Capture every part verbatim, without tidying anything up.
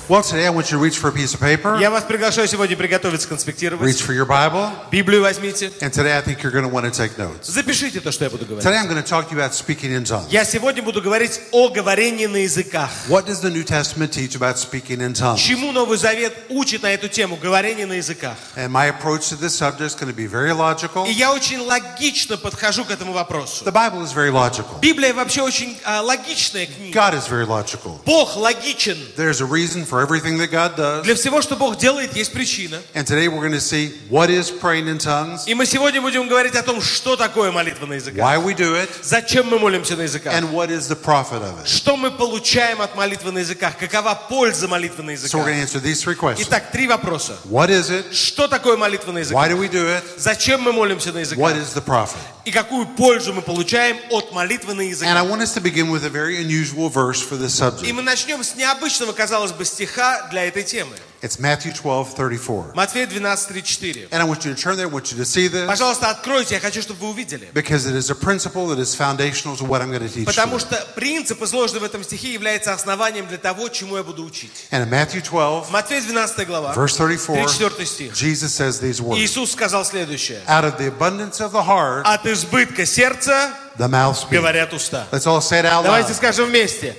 Well, today I want you to reach for a piece of paper. Я вас приглашаю сегодня приготовиться конспектировать. Reach for your Bible. Библию возьмите. And today I think you're going to want to take notes. Запишите то, что я буду говорить. Today I'm going to talk to you about speaking in tongues. Я сегодня буду говорить о говорении на языках. What does the New Testament teach about speaking in tongues? Чему Новый Завет учит на эту тему говорение на языках? And my approach to this subject is going to be very logical. И я очень логично подхожу к этому вопросу. The Bible is very logical. Библия вообще очень а, логичная книга. God is very logical. Бог логичен. There's a reason for everything that God does. Для всего, что Бог делает, есть причина. And today we're going to see what is praying in tongues, И мы сегодня будем говорить о том, что такое молитва на языках. why we do it, Зачем мы молимся на языках? and what is the profit of it. Что мы получаем от молитвы на языках? Какова польза молитвы на So we're языках? going to answer these three questions. Итак, три вопроса. What is it? Что такое молитва на Why языках? do we do it? Зачем мы молимся на What языках? is the profit? И какую пользу мы получаем от молитвы на And I языках? want us to begin with a very unusual verse for this И subject. мы начнем с необычного, казалось бы, стиха для этой темы. It's Matthew twelve thirty-four. Матфея двенадцать тридцать четыре. And I want you to turn there. I want you to see this Пожалуйста, откройте, я хочу, чтобы вы увидели. because it is a principle that is foundational to what I'm going to teach Потому you. что принцип, изложенный в этом стихе, является основанием для того, чему я буду учить. And in Matthew twelve, Матфея двенадцатая глава, verse thirty-four, тридцать четвёртый стих. Jesus says these words. Иисус сказал следующее. Out of the abundance of the heart, От избытка сердца the mouth speaks. говорят уста. Let's all say it out Давайте loud. скажем вместе.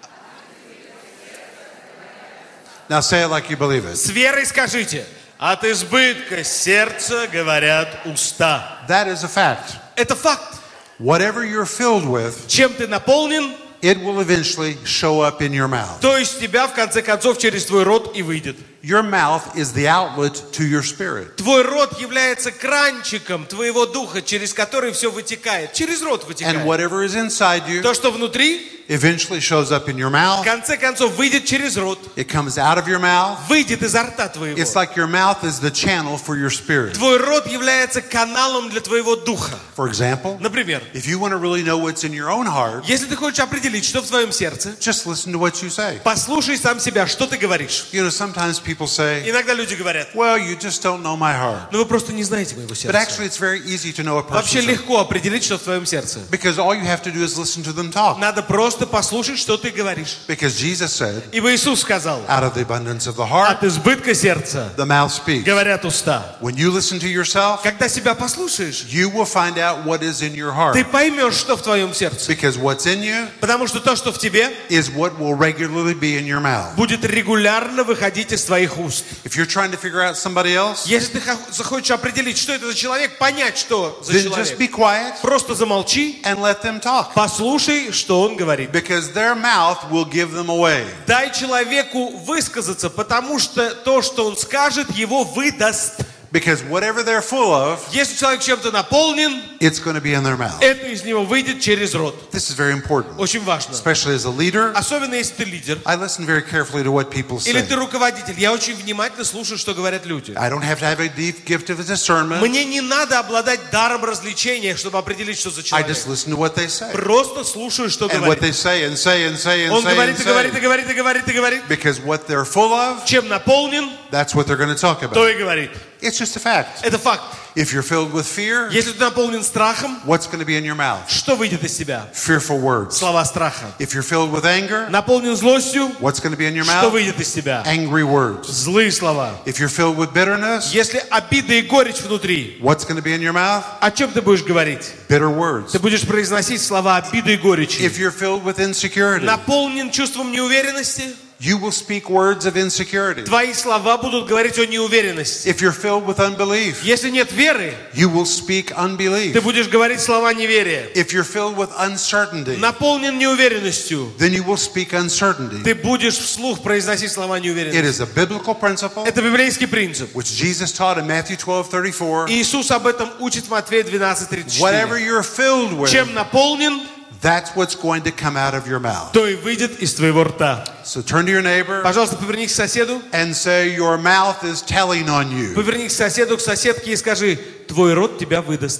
Now say it like you believe it. С верой скажите. От избытка сердца говорят уста. That is a fact. Это факт. Whatever you're filled with, Чем ты наполнен, it will eventually show up in your mouth. то из тебя, в конце концов, через твой рот и выйдет. Your mouth is the outlet to your spirit. Твой рот является кранчиком твоего духа, через который все вытекает. Через рот And вытекает. whatever is inside you То, что внутри, eventually shows up in your в mouth. конце концов, выйдет через рот. It comes out of your mouth. Выйдет изо рта твоего. It's like your mouth is the channel for your spirit. Твой рот является каналом для твоего духа. For example, Например, if you want to really know what's in your own heart, если ты хочешь определить, что в твоем сердце, just listen to what you say. послушай сам себя, что ты говоришь. You know, sometimes people say, Иногда люди говорят, well, you just don't know my heart. но вы просто не знаете моего But сердца. actually, it's very easy to know a Вообще person's heart. легко определить, что в твоем сердце. Because all you have to do is listen to them talk. Надо просто послушать, что ты говоришь. Because Jesus said, Ибо Иисус сказал, out of the abundance of the heart, от избытка сердца the mouth speaks. говорят уста. When you listen to yourself, Когда себя послушаешь, you will find out what is in your heart. ты поймешь, что в твоем сердце. Because what's in you Потому что то, что в тебе, is what will regularly be in your mouth. будет регулярно выходить из твоих уст. If you're trying to figure out somebody else, Если ты хо- захочешь определить, что это за человек, понять, что за then just be человек, quiet просто замолчи, and let them talk. послушай, что он говорит. Because their mouth will give them away. Дай человеку высказаться, потому что то, что он скажет, его выдаст. Because whatever they're full of, Если человек чем-то наполнен, it's going to be in their mouth. это из него выйдет через рот. This is very important, Очень важно. especially as a leader. Особенно если ты лидер I listen very carefully to what people или say. ты руководитель. Я очень внимательно слушаю, что говорят люди. I don't have to have a deep gift of discernment. Мне не надо обладать даром развлечения, чтобы определить, что за I человек. just listen to what they say. Просто слушаю, что And what говорит. they say and say and say and Он say говорит and и говорит, и say. говорит, и говорит, и говорит. Because what they're full of, Чем наполнен, that's what they're going to talk то about. и говорит. It's just a fact. Это факт. If you're filled with fear, Если ты наполнен страхом, what's going to be in your mouth? что выйдет из тебя? Fearful words. Слова страха. If you're filled with anger, Наполнен злостью, what's going to be in your что mouth? выйдет из тебя? Angry words. Злые слова. If you're filled with bitterness, Если обида и горечь внутри, what's going to be in your mouth? о чем ты будешь говорить? Bitter words. Ты будешь произносить слова обиды и горечи. If you're filled with insecurity, Наполнен чувством неуверенности, you will speak words of insecurity. твои слова будут говорить о неуверенности. If you're filled with unbelief, Если нет веры, you will speak ты unbelief. будешь говорить слова неверия. If you're filled with uncertainty, Наполнен неуверенностью, then you will speak uncertainty. ты будешь вслух произносить слова It неуверенности. is a biblical principle Это библейский принцип. which Jesus taught in Matthew twelve thirty-four. Иисус об этом учит в Матфея двенадцать тридцать Whatever четыре. you're filled with, Чем наполнен, that's what's going to come out of your mouth. то и выйдет из твоего рта. So turn to your neighbor Пожалуйста, повернись к соседу. and say, your mouth is telling on you. Повернись к соседу, к соседке и скажи, твой рот тебя выдаст.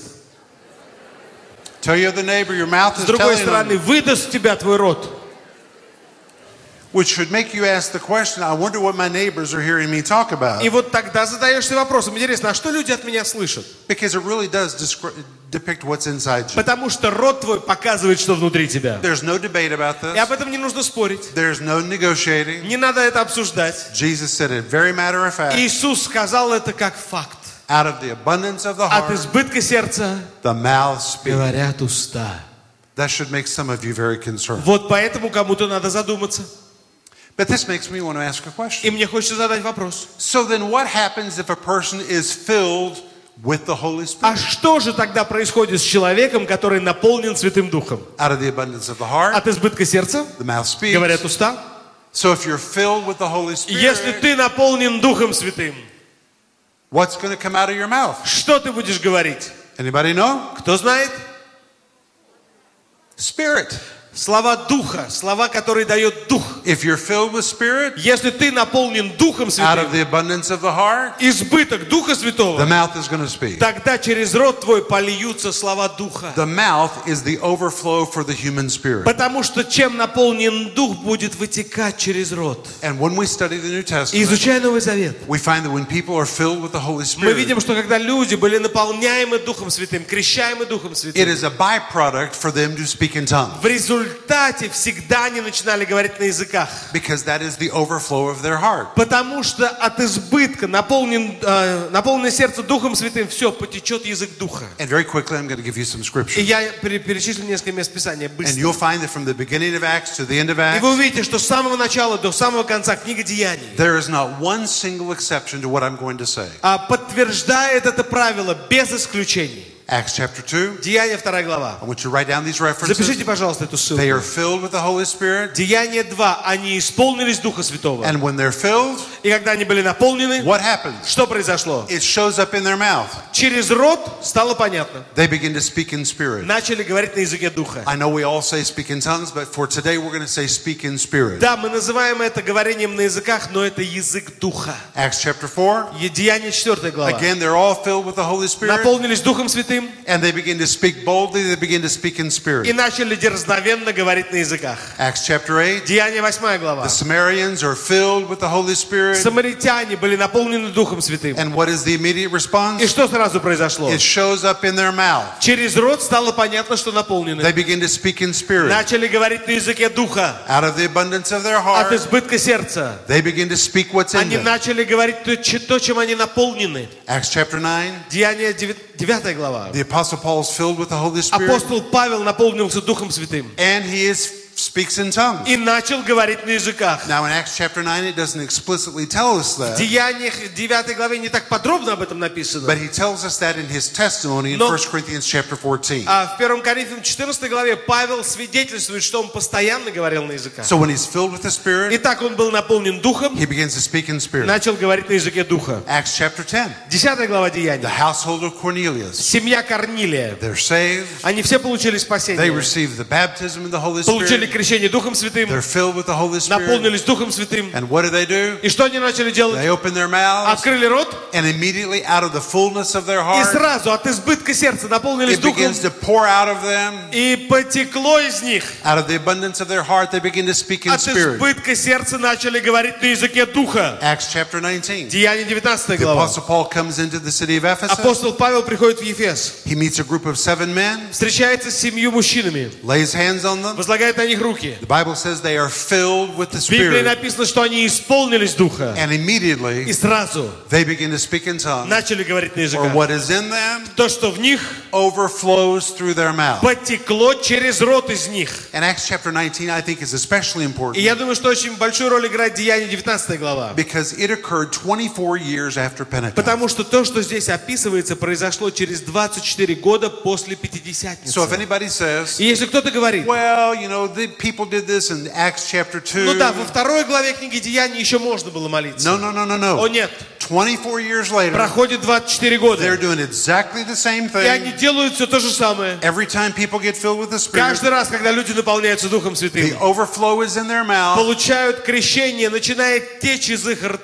Tell your other neighbor, your mouth С is другой telling on стороны, you. выдаст тебя твой рот. Which should make you ask the question, I wonder what my neighbors are hearing me talk about. И вот тогда задаешься вопросом, интересно, а что люди от меня слышат? Because it really does descri- depict what's inside you. Потому что рот твой показывает, что внутри тебя. There's no debate about И this. об этом не нужно спорить. There's no negotiating. Не надо это обсуждать. Jesus said it very matter of fact. Иисус сказал это как факт. Out of the abundance of the От heart, избытка сердца the mouth speaks. говорят уста. That should make some of you very concerned. Вот поэтому кому-то надо задуматься. But this makes me want to ask a question. И мне хочется задать вопрос. So then what happens if a person is filled with the Holy А Spirit? что же тогда происходит с человеком, который наполнен Святым Духом? Out of the abundance of the heart, От избытка сердца the mouth speaks. говорят уста. So if you're filled with the Holy Если Spirit, ты наполнен Духом Святым, what's going to come out of your mouth? что ты будешь говорить? Anybody know? Кто знает? Spirit. Слова Духа, слова, которые дает Дух. If you're filled with Spirit, Если ты наполнен Духом out of Святым, the abundance of the heart, избыток Духа the Святого, mouth is going to speak. тогда через рот твой польются слова Духа. The mouth is the overflow for the human spirit. Потому что чем наполнен Дух, будет вытекать через рот. And when we study the New И Testament, изучая Новый Завет, we find that when people are filled with the Holy мы Spirit, видим, что когда люди были наполняемы Духом Святым, крещаемы Духом it Святым, is a byproduct for them to speak in tongues. в результате всегда они начинали говорить на языках. Because that is the overflow of their heart. Потому что от избытка, наполнен, э, наполненное сердце Духом Святым, все, потечет язык Духа. And very quickly, I'm going to give you some И scripture. я пере- перечислю несколько мест Писания And быстро. you'll find that from the beginning of Acts to the end of И вы Acts, увидите, что с самого начала до самого конца книга Деяний there is not one single exception to what I'm going to say. а, подтверждает это правило без исключений. Acts chapter two, Деяния вторая глава. I want you to write down these references. Запишите, пожалуйста, эту They are ссылку. filled with the Holy Spirit, Деяния два. Они исполнились Духа Святого. and when they're filled, И когда они были наполнены, what happens? что произошло? It shows up in their mouth. Через рот стало понятно. They begin to speak in spirit. Начали говорить на языке Духа. I know we all say speak in tongues, but for today we're going to say speak in spirit. Да, мы называем это говорением на языках, но это язык Духа. Acts chapter four, Деяния четвёртая глава. again, they're all filled with the Holy Spirit, Наполнились Духом Святым and they begin to speak boldly, they begin to speak in и spirit. начали дерзновенно говорить на языках. Acts chapter eight, Деяния восьмая глава. the Samaritans are filled with the Holy Spirit, Самаритяне были наполнены Духом Святым. and what is the immediate И response? что сразу произошло? It shows up in their mouth. Через рот стало понятно, что наполнены. They begin to speak in spirit. Начали говорить на языке Духа. Out of the abundance of their От heart, избытка сердца. they begin to speak what's in Они them. начали говорить то, че- то, чем они наполнены. Acts chapter nine, Деяния девятая глава. the Apostle Paul is filled with the Holy Spirit, Апостол Павел наполнился Духом Святым and he is speaks in tongues. и начал говорить на языках. Now in Acts chapter nine, it doesn't explicitly tell us В that, Деяниях девятой главе не так подробно об этом написано. but he tells us that in his testimony in Но- First Corinthians chapter fourteen. А в первом Коринфянам четырнадцатой главе Павел свидетельствует, что он постоянно говорил на языках. So when he's filled with the Spirit, Итак, он был наполнен Духом, he begins to speak in spirit. начал говорить на языке Духа. Acts chapter ten, Десятая глава the Деяний. household of Cornelius, Семья Корнилия. they're saved, Они все получили they спасение. receive the baptism of the Holy Получили Spirit, крещение Духом Святым. they're filled with the Holy Spirit, Наполнились Духом Святым. and what do they do? И что они начали делать? They open their mouths, Открыли рот, and immediately out of the fullness of their и heart, сразу от избытка сердца наполнились it Духом, begins to pour out of them. и потекло из них. Out of the abundance of their heart, they begin to speak in От spirit. избытка сердца начали говорить на языке Духа. Acts chapter nineteen. Деяния девятнадцатая The глава. Apostle Paul comes into the city of Ephesus. Апостол Павел приходит в Ефес, He meets a group of seven men, встречается с семью мужчинами, lays hands on them. возлагает на них руки. The Bible says they are filled with the В Библии Spirit. написано, что они исполнились Духа. And immediately И сразу they begin to speak in tongues. начали говорить на Or языках. what is in them То, что в них, overflows through their mouth. потекло через рот из них. And Acts chapter nineteen, I think, is especially И important я думаю, что очень большую роль играет Деяния девятнадцатая глава. because it occurred twenty-four years after Pentecost. Потому что то, что здесь описывается, произошло через двадцать четыре года после Пятидесятницы. So if anybody says, И если кто-то говорит, well, you know, the people did this in Acts chapter two. ну да, во второй главе книги Деяний еще можно было молиться. No, no, no, no, О no. нет, twenty-four years later, проходит двадцать четыре they're года, doing exactly the same и они thing. делают все то же самое. Every time people get filled with the Spirit, Каждый раз, когда люди наполняются Духом the Святым, overflow is in their mouth. получают крещение, начинает течь из их рта.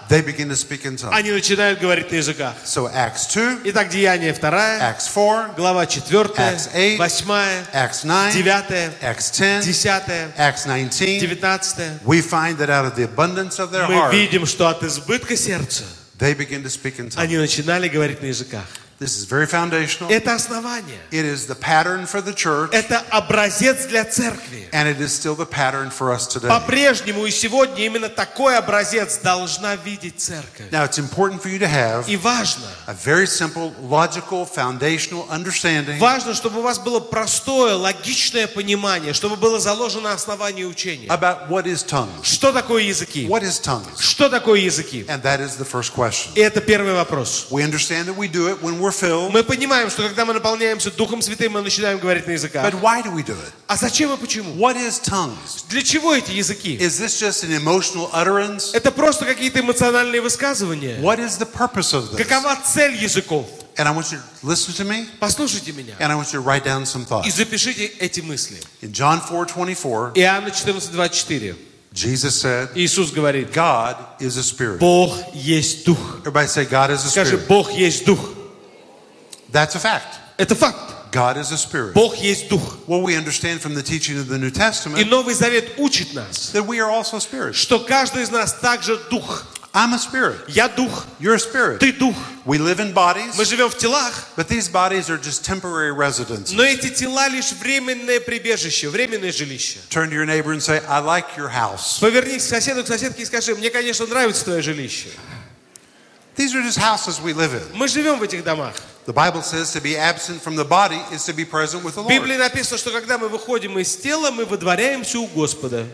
they begin to speak in tongues. они начинают говорить на языках. So Acts two, Итак, Деяния вторая, Acts four, глава четвёртая, Acts eight, восьмая, Acts nine, девятая, Acts ten, десятая, Acts nineteen, девятнадцатая. we find that out of the abundance of their Мы heart, видим, что от избытка сердца they begin to speak in tongues. они начинали говорить на языках. This is very foundational. Это основание. It is the pattern for the church, Это образец для церкви. and it is still the pattern for us today. По-прежнему и сегодня именно такой образец должна видеть церковь. Now, it's important for you to have И важно, a very simple, logical, foundational understanding важно, чтобы у вас было простое, логичное понимание, чтобы было заложено основание учения. about what is tongues. Что такое языки? What is tongues? Что такое языки? And that is the first question. И это первый вопрос. We understand that we do it when we're filled, Мы понимаем, что когда мы наполняемся Духом Святым, мы начинаем говорить на языках. but why do we do it? А зачем и почему? What is tongues? Для чего эти языки? Is this just an emotional utterance? Это просто какие-то эмоциональные высказывания. What is the purpose of this? Какова цель языков? And I want you to listen to me, Послушайте меня and I want you to write down some и thoughts. запишите эти мысли. In John four twenty-four, Иоанна четырнадцать двадцать четыре. Jesus said, Иисус говорит: God is a spirit. Бог есть Дух. Everybody say, God is a Скажи, spirit. Бог есть Дух. That's a fact. Это факт. God is a spirit. Бог есть Дух. Well, we understand from the teaching of the New И Testament Новый Завет учит нас, that we are also spirits. что каждый из нас также Дух. I'm a spirit. Я Дух, You're a spirit. ты Дух. We live in bodies, Мы живем в телах, but these bodies are just temporary residences. но эти тела лишь временное прибежище, временное жилище. Turn to your neighbor and say, I like your house. Повернись к соседу, к соседке и скажи: мне, конечно, нравится твое жилище. These are just houses we live in. Мы живем в этих домах. The Bible says to be absent from the body is to be present with the В Lord. Библии написано, что когда мы выходим из тела, мы выдворяемся у Господа.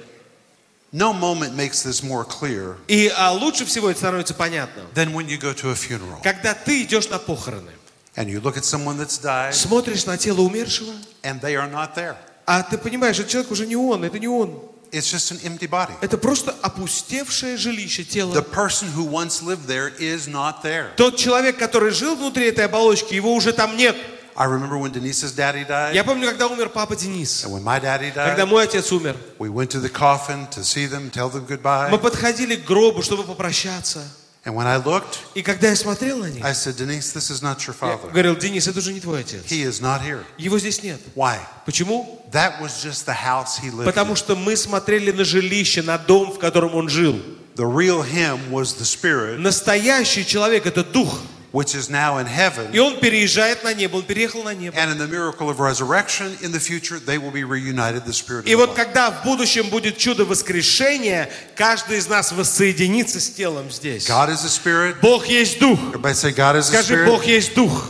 No moment makes this more clear И а, лучше всего это становится понятно, than when you go to a funeral когда ты идешь на похороны, and you look at someone that's died смотришь на тело умершего, and they are not there. а ты понимаешь, этот человек уже не он, это не он. It's just an empty body. Это просто опустевшее жилище The тела. person who once lived there is not there. Тот человек, который жил внутри этой оболочки, его уже там нет. I remember when Denise's daddy died, Я помню, когда умер папа Денис, and when my daddy когда died, мой отец умер, we went to the coffin to see them, tell them мы goodbye. подходили к гробу, чтобы попрощаться. And when I looked, И когда я смотрел на них, I said, Denise, this is not your я father. говорил: Денис, это уже не твой отец. He is not here. Его здесь нет. Why? Почему? That was just the house he lived Потому in. что мы смотрели на жилище, на дом, в котором он жил. The real him was the spirit, Настоящий человек — это дух. which is now in heaven. И он переезжает на небо, он переехал на небо. And in the miracle of resurrection, in the future, they will be reunited, the spirit И and the вот body. когда в будущем будет чудо воскрешения, каждый из нас воссоединится с телом здесь. God is a spirit. Бог есть дух. Everybody say, God is a Скажи: Бог spirit. есть дух.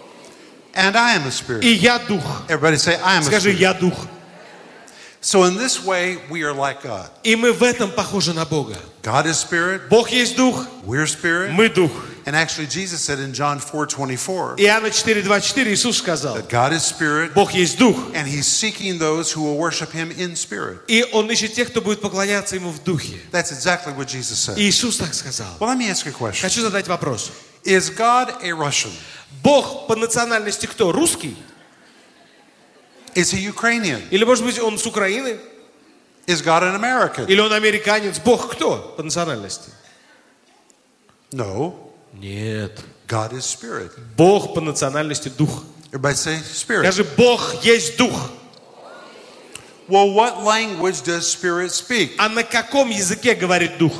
And I am a И spirit. я дух. Everybody say, I am a Скажи: spirit. я дух. So in this way, we are like God. И мы в этом похожи на Бога. God is spirit. Бог есть дух, We're spirit. мы дух. And actually, Jesus said in John four twenty-four Иоанна четыре двадцать четыре Иисус сказал: that God is spirit, Бог есть дух. and He's seeking those who will worship Him in spirit. И Он ищет тех, кто будет поклоняться Ему в духе. That's exactly what Jesus said. И Иисус так сказал. Well, let me ask you a question. Хочу задать вопрос. Is God a Russian? Бог по национальности кто? Русский? Is He Ukrainian? Или, может быть, Он с Украины? Is God an American? Или Он американец? Бог кто по национальности? No. Нет. God is spirit. Бог по национальности дух. Everybody say spirit. Скажи: Бог есть дух. Well, what language does spirit speak? А на каком языке говорит дух?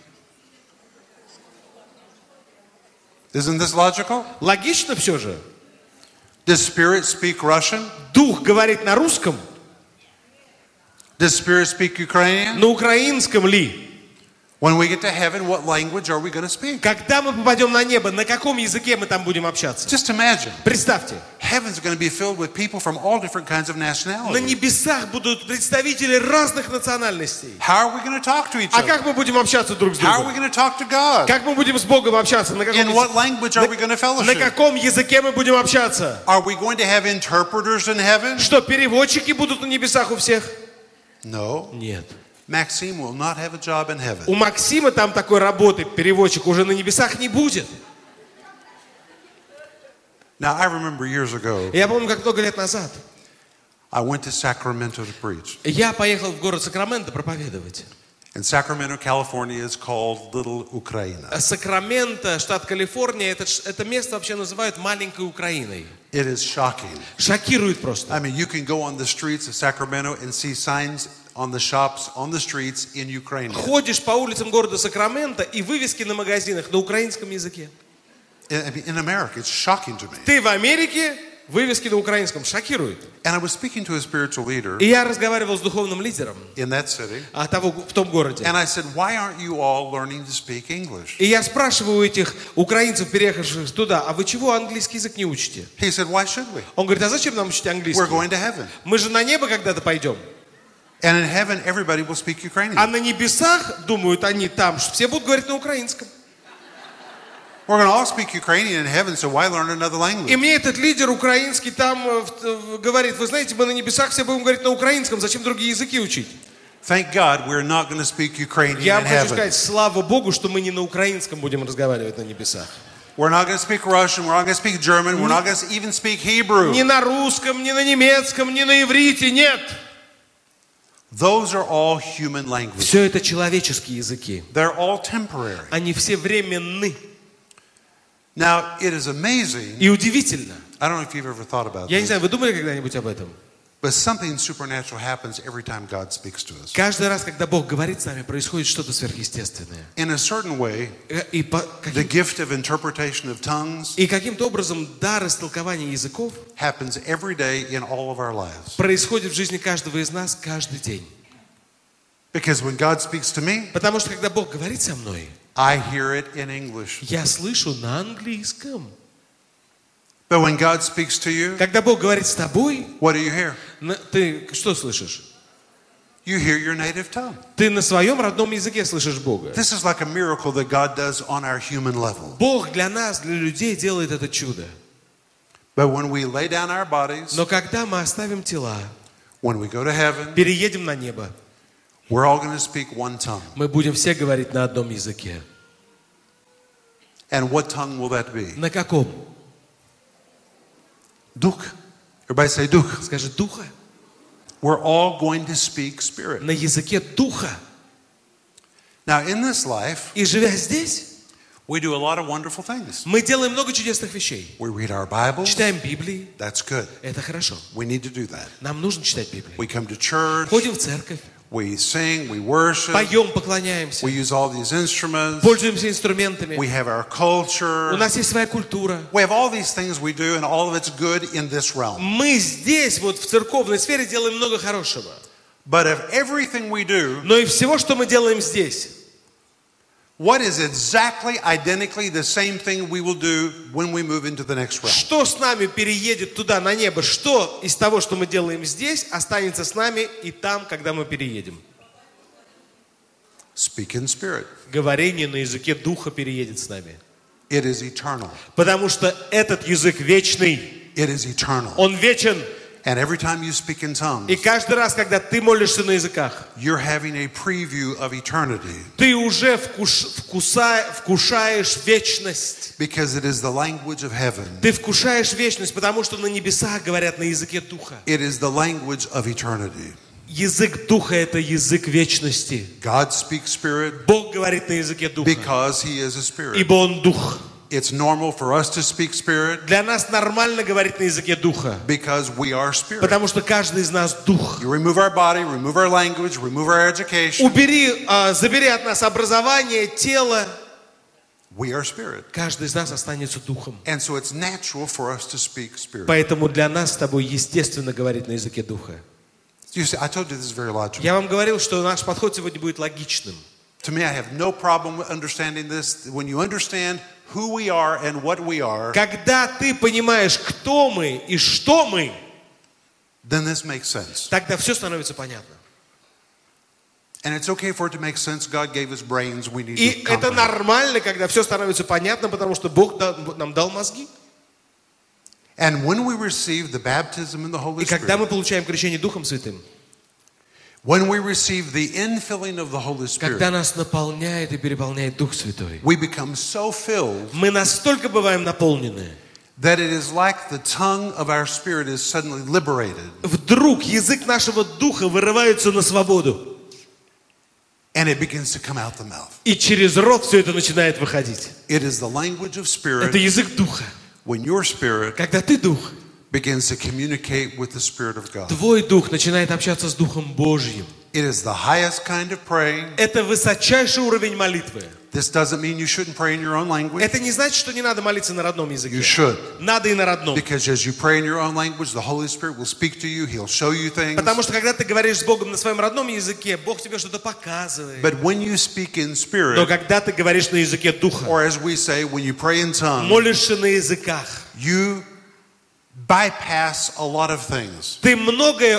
Isn't this logical? Логично все же. Does spirit speak Russian? Дух говорит на русском, Does spirit speak Ukrainian? на украинском ли? When we get to heaven, what language are we going to speak? Когда мы попадем на небо, на каком языке мы там будем общаться? Just imagine. Представьте, Heaven's going to be filled with people from all different kinds of на nationalities. небесах будут представители разных национальностей. How are we going to talk to each А other? как мы будем общаться друг с How are we другом? going to talk to God? Как мы будем с Богом общаться? На каком, In what языке? language are we going to на fellowship? каком языке мы будем общаться? Are we going to have interpreters in heaven? Что, переводчики будут на небесах у всех? No. Нет. Maxime will not have a job in heaven. У Максима там такой работы, переводчик, уже на небесах не будет. Now, I remember years ago, Я помню, как много лет назад I went to Sacramento to preach. я поехал в город Сакраменто проповедовать. And Sacramento, California is called Little Ukraine. Сакраменто, штат Калифорния, это, ш- это место вообще называют маленькой Украиной. It is shocking. Шокирует просто. I mean, you can go on the streets of Sacramento and see signs on the shops, on the streets in Ukraine. Ходишь по улицам города Сакраменто и вывески на магазинах на украинском языке. I mean, in America, it's shocking to me. Ты в Америке, вывески на украинском. Шокирует. And I was speaking to a spiritual leader И я разговаривал с духовным лидером in that city, а, того, в том городе. and I said, why aren't you all learning to speak English? И я спрашиваю у этих украинцев, переехавших туда, а вы чего английский язык не учите? He said, why should we? Он говорит, а зачем нам учить английский? We're going to heaven. Мы же на небо когда-то пойдем. And in heaven, everybody will speak Ukrainian. А на небесах, думают они там, что все будут говорить на украинском. We're going to all speak Ukrainian in heaven, so why learn another language? И мне этот лидер украинский там э, в- говорит, вы знаете, мы на небесах все будем говорить на украинском, зачем другие языки учить? Thank God we're not going to speak Ukrainian Я in вам хочу heaven. сказать, слава Богу, что мы не на украинском будем разговаривать на небесах. We're not going to speak Russian, we're not going to speak German, we're not going to even speak Hebrew. Ни на русском, ни на немецком, ни на иврите, нет. Those are all human languages. Все это человеческие языки. They're all temporary. Они все временны. Now, it is amazing. И удивительно. I don't know if you've ever thought about Я не this, знаю, вы думали когда-нибудь об этом? but something supernatural happens every time God speaks to us. Каждый раз, когда Бог говорит с нами, происходит что-то сверхъестественное. In a certain way, Э, И, по- the каким- gift of interpretation of tongues и каким-то образом дар истолкования языков happens every day in all of our lives. происходит в жизни каждого из нас каждый день. Because when God speaks to me, Потому что когда Бог говорит со мной, I hear it in English. я слышу на английском. But when God speaks to you, Когда Бог говорит с тобой, what do you hear? на- ты что слышишь? You hear your native tongue. Ты на своем родном языке слышишь Бога. This is like a miracle that God does on our human level. Бог для нас, для людей делает это чудо. But when we lay down our bodies, Но когда мы оставим тела, when we go to heaven, переедем на небо, we're all going to speak one tongue. мы будем все говорить на одном языке. And what tongue will that be? На каком? Дух. Everybody say Дух. Скажи, духа. We're all going to speak spirit. На языке духа. Now, in this life, И живя здесь, we do a lot of wonderful things. мы делаем много чудесных вещей. We read our Bibles. Читаем Библии. That's good. Это хорошо. We need to do that. Нам нужно читать Библию. We come to church. Ходим в церковь, We sing. We worship. поем, поклоняемся, We use all these instruments. пользуемся инструментами. We have our У culture. нас есть своя культура. We have all these things we do, and all of it's good in this realm. Мы здесь, вот в церковной сфере, делаем много хорошего. But if everything we do, Но и всего, что мы делаем здесь, what is exactly identically the same thing we will do when we move into the next realm? что с нами переедет туда, на небо, что из того, что мы делаем здесь, останется с нами и там, когда мы переедем. Speak in spirit. Говорение на языке духа переедет с нами. It is eternal. Потому что этот язык вечный, It is eternal. он вечен. And every time you speak in И tongues, каждый раз, когда ты молишься на языках, you're having a preview of eternity ты уже вкуш, вкуса, вкушаешь вечность. because it is the language of heaven. Ты вкушаешь вечность, потому что на небесах говорят на языке духа. It is the language of eternity. Язык духа – это язык вечности. God speaks spirit Бог говорит на языке духа, because he is a spirit. ибо Он дух. It's normal for us to speak spirit Для нас нормально говорить на языке духа, because we are spirit. потому что каждый из нас дух. You remove our body, remove our language, remove our education. Убери, а, забери от нас образование, тело. We are spirit. Каждый из нас останется духом. And so it's natural for us to speak spirit. Поэтому для нас с тобой естественно говорить на языке духа. You see, I told you this is very logical. Я вам говорил, что наш подход сегодня будет логичным. To me, I have no problem with understanding this. When you understand who we are and what we are, Когда ты понимаешь, кто мы и что мы, then this makes sense. тогда все становится понятно. And it's okay for it to make sense. God gave us brains. We need И to это comprehend. нормально, когда все становится понятно, потому что Бог да- нам дал мозги. And when we receive the baptism in the Holy И когда мы Spirit, получаем крещение Духом Святым, when we receive the infilling of the Holy когда Spirit, нас наполняет и переполняет Дух Святой, we become so filled мы настолько бываем наполнены, that it is like the tongue of our spirit is suddenly liberated. вдруг язык нашего духа вырывается на свободу. and it begins to come out the mouth. И через рот все это начинает выходить. It is the language of spirit. Это язык духа. When your spirit Когда ты дух, begins to communicate with the Spirit of God. твой дух начинает общаться с Духом Божьим. It is the highest kind of praying. Это высочайший уровень молитвы. This doesn't mean you shouldn't pray in your own language. Это не значит, что не надо молиться на родном языке. You should. Надо и на родном. Because as you pray in your own language, the Holy Spirit will speak to you. He'll show you things. Потому что когда ты говоришь с Богом на своем родном языке, Бог тебе что-то показывает. But when you speak in Но spirit, когда ты говоришь на языке духа, or as we say, when you pray in tongues, молишься на языках, you bypass a lot of things. ты многое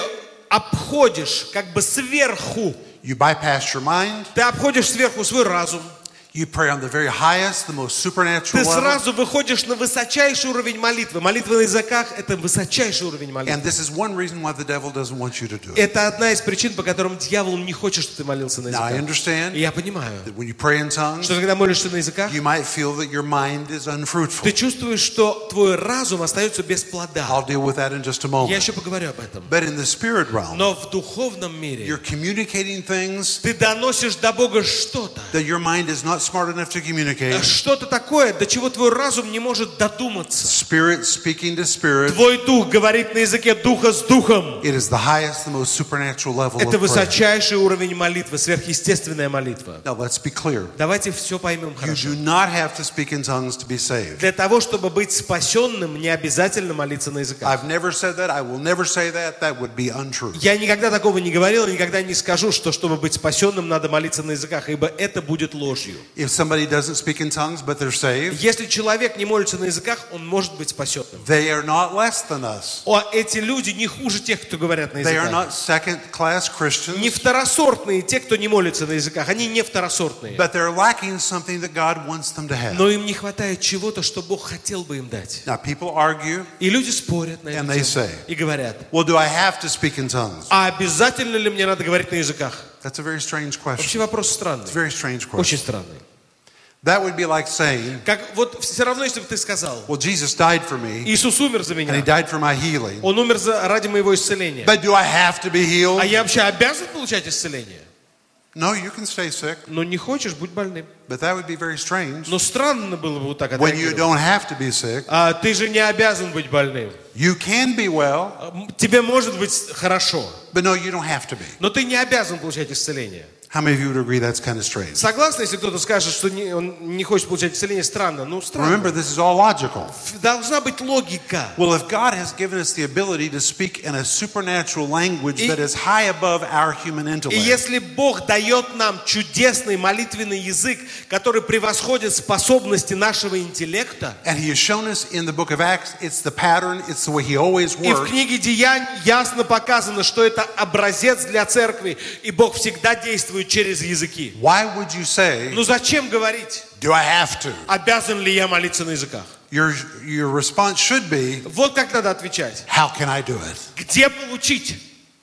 обходишь как бы сверху. You bypass your mind. Ты обходишь сверху свой разум. You pray on the very highest, the most supernatural Ты level. сразу выходишь на высочайший уровень молитвы. Молитва на языках – это высочайший уровень And молитвы. this is one reason why the devil doesn't want you to do it. Это одна из причин, по которым дьявол не хочет, чтобы ты молился на Now I языках. understand И я понимаю, that when you pray in tongues, что когда молишься на языках, you might feel that your mind is unfruitful. ты чувствуешь, что твой разум остается без плода. I'll deal with that in just a Я moment. еще поговорю об этом. But in the spirit realm, Но в духовном мире you're communicating things ты доносишь до Бога что-то. that your mind is not smart enough to communicate. Что-то такое, до чего твой разум не может додуматься. Spirit speaking to spirit. Твой дух говорит на языке духа с духом. It is the highest, the most supernatural level Это of prayer. высочайший уровень молитвы, сверхъестественная молитва. Now let's be clear. Давайте все поймем You хорошо. do not have to speak in tongues to be saved. Для того, чтобы быть спасенным, не обязательно молиться на языках. I've never said that. I will never say that. That would be untrue. Я никогда такого не говорил, и никогда не скажу, что чтобы быть спасенным, надо молиться на языках, ибо это будет ложью. If somebody doesn't speak in tongues but they're saved, Если человек не молится на языках, он может быть спасенным. they are not less than us. О, эти люди не хуже тех, кто говорят на They are языках. not second-class Не Christians, второсортные те, кто не молится на языках. Они не второсортные. but they're lacking something that God wants them to have. Но им не хватает чего-то, что Бог хотел бы им дать. Now, people argue, И люди спорят на And эту they тему. say, И говорят, well, do I have to speak in tongues? а обязательно ли мне надо говорить на языках? That's a very strange question. Вообще вопрос странный. It's a very strange Очень question. странный. That would be like saying, Как вот все равно, если бы ты сказал, well, Jesus died for me, Иисус умер за and He меня, died for my healing, Он умер за, ради моего исцеления. but do I have to be healed? А я вообще обязан получать исцеление? No, you can stay sick, Но не хочешь, будь больным. but that would be very strange. Но странно было бы вот так When you отреагировать. don't have to be sick, А ты же не обязан быть больным. you can be well, М, Тебе может быть хорошо, but no, you don't have to be. но ты не обязан получать исцеление. How many of you would agree that's kind of strange? Согласны, если кто-то скажет, что не- он не хочет получать исцеление? Странно. Ну, странно. Remember, this is all logical. Должна быть логика. Well, if God has given us the ability to speak in a supernatural language И- that is high above our human И intellect, если Бог дает нам чудесный молитвенный язык, который превосходит способности нашего интеллекта, and He has shown us in the book of Acts, it's the pattern, it's the way He always и в works. книге Деяний ясно показано, что это образец для церкви, и Бог всегда действует через языки. Why would you say, Ну зачем говорить, do I have to? обязан ли я молиться на языках? Your, your response should be, Вот как надо отвечать. how can I do it? Где получить?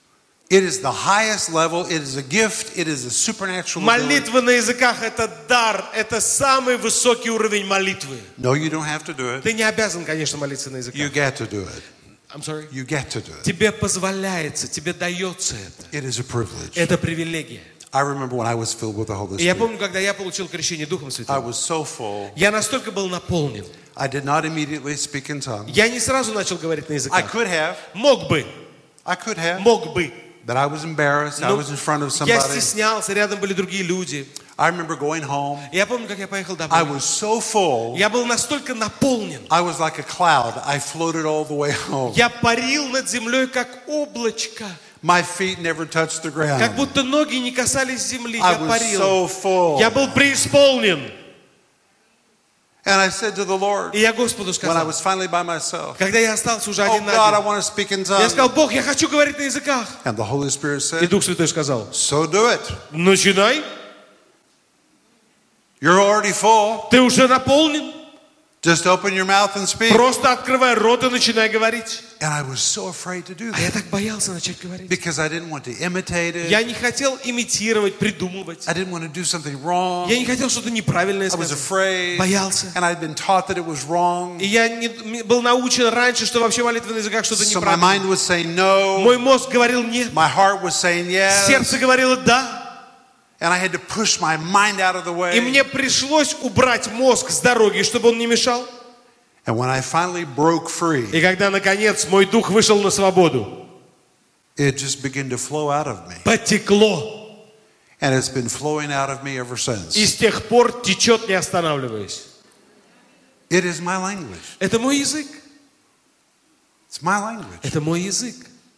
It is the highest level, it is a gift, it is a supernatural ability. Молитва на языках – это дар, это самый высокий уровень молитвы. No, you don't have to do it. Ты не обязан, конечно, молиться на You языках. get to do it. I'm sorry. You get to do it. Тебе позволяется, тебе дается это. It is a privilege. Это привилегия. I remember when I was filled with the Holy И я Spirit. помню, когда я получил крещение Духом I Святым, was so full, я настолько был наполнен. I did not immediately speak in tongues. Я не сразу начал говорить на I языках. could have, Мог бы, I could have, мог бы. but I was embarrassed. I Но was in front of я somebody. стеснялся, рядом были другие люди. I remember going home. И я помню, как я поехал I домой. was so full, Я был настолько наполнен. I was like a cloud. I floated all the way home. Я парил над землей, как облачко. My feet never touched the Как ground. будто ноги не касались земли. I Я was парил. so full. Я был преисполнен. And I said to the Lord, И я Господу when I сказал, was finally by myself, когда я остался уже oh один на God, I один, want to speak in я tongues. сказал: Бог, я хочу говорить на языках. And the Holy Spirit И said, Дух Святой сказал: so do it. начинай, You're already full. ты уже наполнен. Just open your mouth and speak. Просто открывай рот и начинай говорить. And I was so afraid to do А я that так боялся начать говорить. because I didn't want to imitate it. Я не хотел имитировать, придумывать. I didn't want to do something wrong. Я не хотел что-то неправильное I was сказать. afraid. Боялся. And I'd been taught that it was wrong. И я не, был научен раньше, что вообще молитва на языках что-то So my mind неправильное. was saying no. Мой мозг говорил нет. My heart was saying yes. Сердце говорило да. And I had to push my mind out of the way. И мне пришлось убрать мозг с дороги, чтобы он не мешал. And when I finally broke free, И когда, наконец, мой дух вышел на свободу, it just began to flow out of me. потекло. And it's been flowing out of me ever since. И с тех пор течет, не останавливаясь. It is my language. Это мой язык. It's my language. Это мой язык.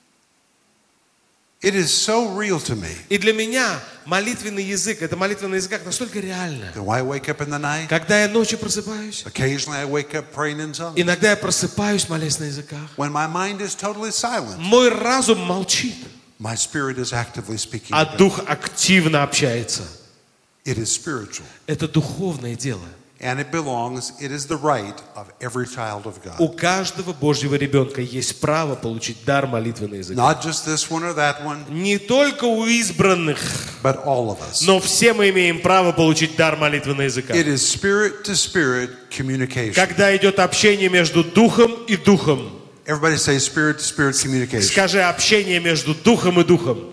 It is so real to me. И для меня молитвенный язык, это молитва на языках настолько реально. That when I wake up in the night, Когда я ночью просыпаюсь, occasionally I wake up praying in tongues. иногда я просыпаюсь, молясь на языках. When my mind is totally silent, Мой разум молчит, my spirit is actively speaking. а to God. дух активно общается. It is spiritual. Это духовное дело. And it belongs, it is the right of every child of У God. каждого Божьего ребенка есть право получить дар молитвы на языках. Not just this one or that one, Не только у избранных, but all of us. но все мы имеем право получить дар молитвы на языках. It is spirit to spirit communication. Когда идет общение между духом и духом. Everybody say spirit to spirit communication. Скажи, общение между духом и духом.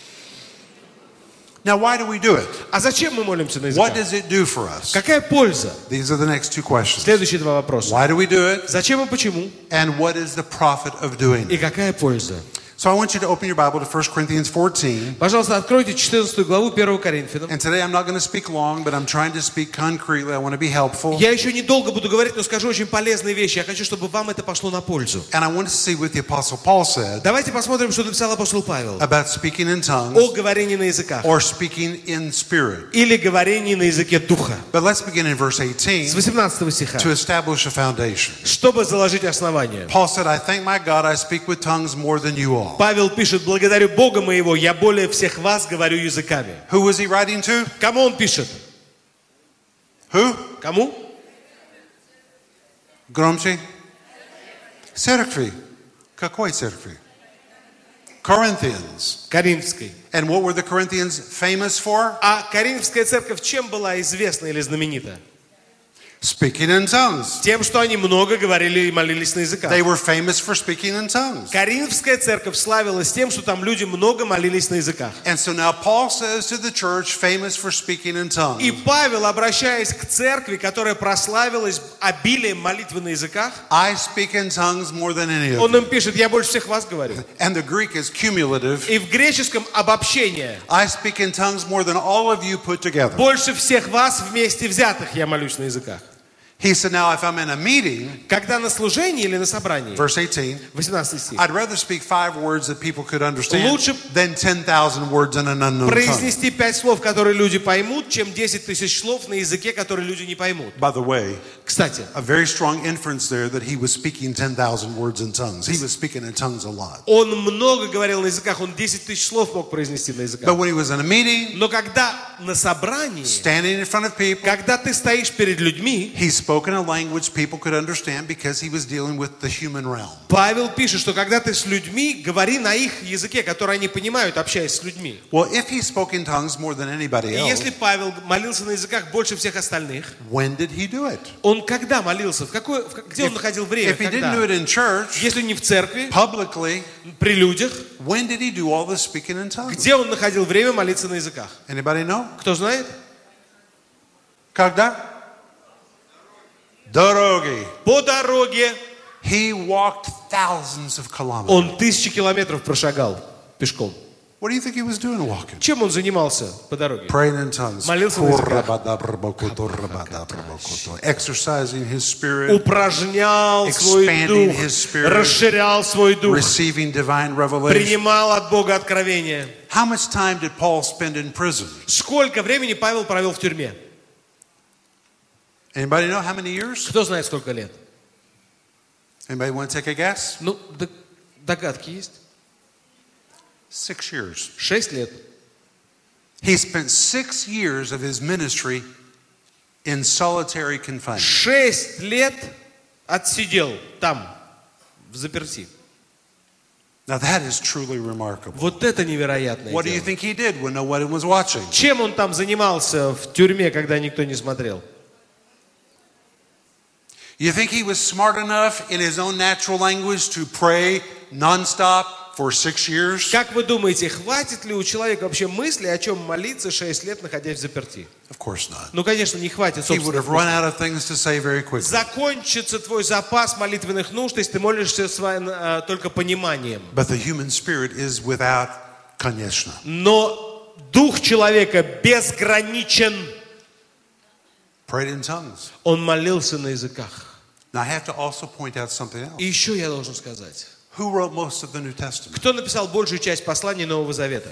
Now, why do we do it? А зачем мы молимся на What языках? does it do for us? Какая польза? These are the next two questions. Следующие два вопроса. Why do we do it? Зачем и почему? And what is the profit of doing И it? какая польза? So I want you to open your Bible to First Corinthians fourteen. Пожалуйста, откройте четырнадцатую главу первого Коринфянам. And today I'm not going to speak long, but I'm trying to speak concretely. I want to be helpful. Я еще недолго буду говорить, но скажу очень полезные вещи. Я хочу, чтобы вам это пошло на пользу. And I want to see what the Apostle Paul said Давайте посмотрим, что написал апостол Павел about speaking in о tongues говорении на языках or speaking in spirit. или говорении на языке духа. But let's begin in verse eighteen С восемнадцатого стиха. to establish a foundation. Чтобы заложить основание. Paul said, I thank my God I speak with tongues more than you all. Павел пишет: благодарю Бога моего, я более всех вас говорю языками. Who was he writing to? Кому он пишет? Who? Кому? Громче. Церкви. Какой церкви? Corinthians. Коринфской. And what were the Corinthians famous for? А Коринфская церковь чем была известна или знаменита? Speaking in tongues. Тем, что они много говорили и молились на языках. They were famous for speaking in tongues. Коринфская церковь славилась тем, что там люди много молились на языках. And so now Paul says to the church famous for speaking in tongues. И Павел, обращаясь к церкви, которая прославилась обилием молитвы на языках, I speak in tongues more than any of он you. им пишет: я больше всех вас говорю. And the Greek is cumulative. И в греческом обобщение: I speak in tongues more than all of you put together. больше всех вас вместе взятых я молюсь на языках. He said, now if I'm in a meeting, Когда на служении или на собрании, verse eighteen, восемнадцатый стих, I'd rather speak five words that people could understand Лучше than ten thousand words in an unknown tongue. произнести пять слов, которые люди поймут, чем десять тысяч слов на языке, который люди не поймут. By the way, Кстати, a very strong inference there that he was speaking ten thousand words in tongues. He was speaking in tongues a lot. он много говорил на языках, он десять тысяч слов мог произнести на языках. But when he was in a meeting, Но когда на собрании, standing in front of people, когда ты стоишь перед людьми, he spoke in a language people could understand because he was dealing with the human realm. Павел пишет, что когда ты с людьми, говори на их языке, который они понимают, общаясь с людьми. Well, if he spoke in tongues more than anybody И else, если Павел молился на языках больше всех остальных, when did he do it? он когда молился? В какой, в, где он находил время? If he Когда? didn't do it in church, Если не в церкви, publicly, при людях, when did he do all this speaking in tongues? где он находил время молиться на языках? Anybody know? Кто знает? Когда? Дороги. По дороге. He walked thousands of kilometers. Он тысячи километров прошагал пешком. What do you think he was doing walking? Чем он занимался по дороге? Praying in tongues. Молился на языках. Exercising his spirit. Упражнял свой Expanding дух, his spirit. расширял свой дух, Receiving divine revelation. принимал от Бога откровения. How much time did Paul spend in prison? Сколько времени Павел провел в тюрьме? Anybody know how many years? Кто знает, сколько лет? Anybody want to take a guess? Ну, д- догадки есть. Six years. Шесть лет. He spent six years of his ministry in solitary confinement. Шесть лет отсидел там, в заперти. Now that is truly remarkable. Вот это невероятное What do you дело. think he did when no one was watching? Чем он там занимался в тюрьме, когда никто не смотрел? You think he was smart enough in his own natural language to pray nonstop for six years? Как вы думаете, хватит ли у человека вообще мысли, о чем молиться шесть лет, находясь в заперти? Of course not. Ну, конечно, не хватит He would have собственных run мыслей. out of things to say very quickly. Закончится твой запас молитвенных нужд, если ты молишься своим, э, только пониманием. But the human spirit is without конечно. Но дух человека безграничен. Prayed in tongues. Он молился на языках. Now I have to also point out something else. И еще я должен сказать. Who wrote most of the New Testament? Кто написал большую часть посланий Нового Завета?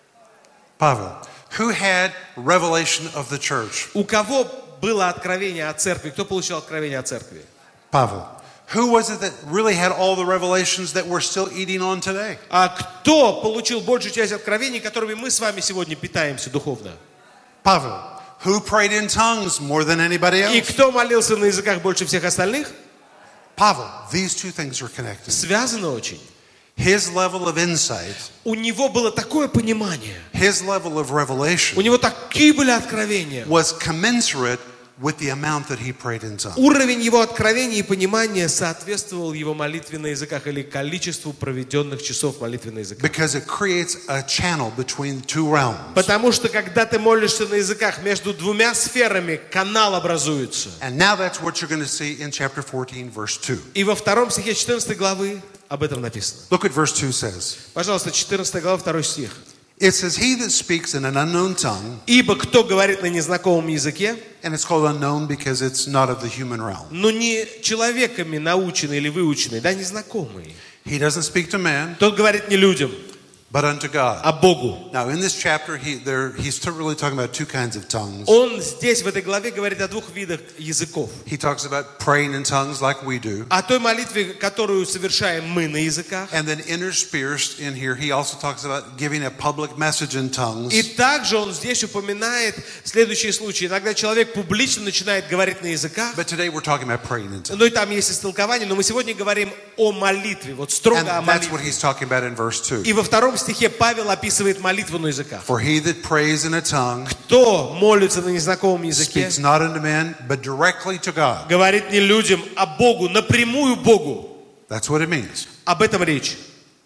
Pavel. Who had revelation of the church? У кого было откровение о церкви? Кто получил откровение о церкви? Pavel. Who was it that really had all the revelations that we're still eating on today? А кто получил большую часть откровений, которыми мы с вами сегодня питаемся духовно? Pavel. Who prayed in tongues more than anybody И else? кто молился на языках больше всех остальных? Pavel. These two things are connected. Связано очень. His level of insight, У него было такое понимание, his level of у revelation него такие были откровения. was commensurate with the amount that he prayed in tongues. Уровень его откровения и понимания соответствовал его молитве на языках или количеству проведенных часов молитвы на языках. Because it creates a channel between two realms. Потому что когда ты молишься на языках, между двумя сферами канал образуется. And now that's what you're going to see in chapter fourteen, verse two. И во втором стихе четырнадцатой главы об этом написано. Look at verse two says. Пожалуйста, четырнадцатая глава, второй стих. It says, he that speaks in an unknown tongue, «Ибо кто говорит на незнакомом языке, and it's called unknown because it's not of the human realm. но не человеками наученный или выученный, да, незнакомый, He doesn't speak to man, тот говорит не людям, but unto God. а Богу». Now, in this chapter, he, there, he's t- really talking about two kinds of tongues. Он здесь, в этой главе, говорит о двух видах языков. He talks about praying in tongues like we do. О той молитве, которую совершаем мы на языках. And then interspersed in here, he also talks about giving a public message in tongues. И также он здесь упоминает следующие случаи. Иногда человек публично начинает говорить на языках, But today we're talking about praying in tongues. но и там есть истолкование, но мы сегодня говорим о молитве, вот строго о And that's what молитве. he's talking about in verse two. И во втором стихе Павел описывает молитву на языках. For he that prays in a tongue Кто молится на незнакомом языке, speaks not unto men, but directly to God. говорит не людям, а Богу, напрямую Богу. That's what it means. Об этом речь.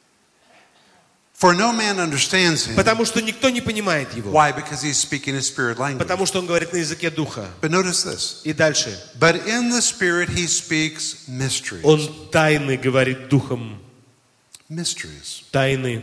For no man understands him. Потому что никто не понимает его. Why? Because he's speaking a spirit language. Потому что он говорит на языке духа. But notice this. И дальше. But in the spirit he speaks mysteries. Он тайны говорит духом. Mysteries. Тайны.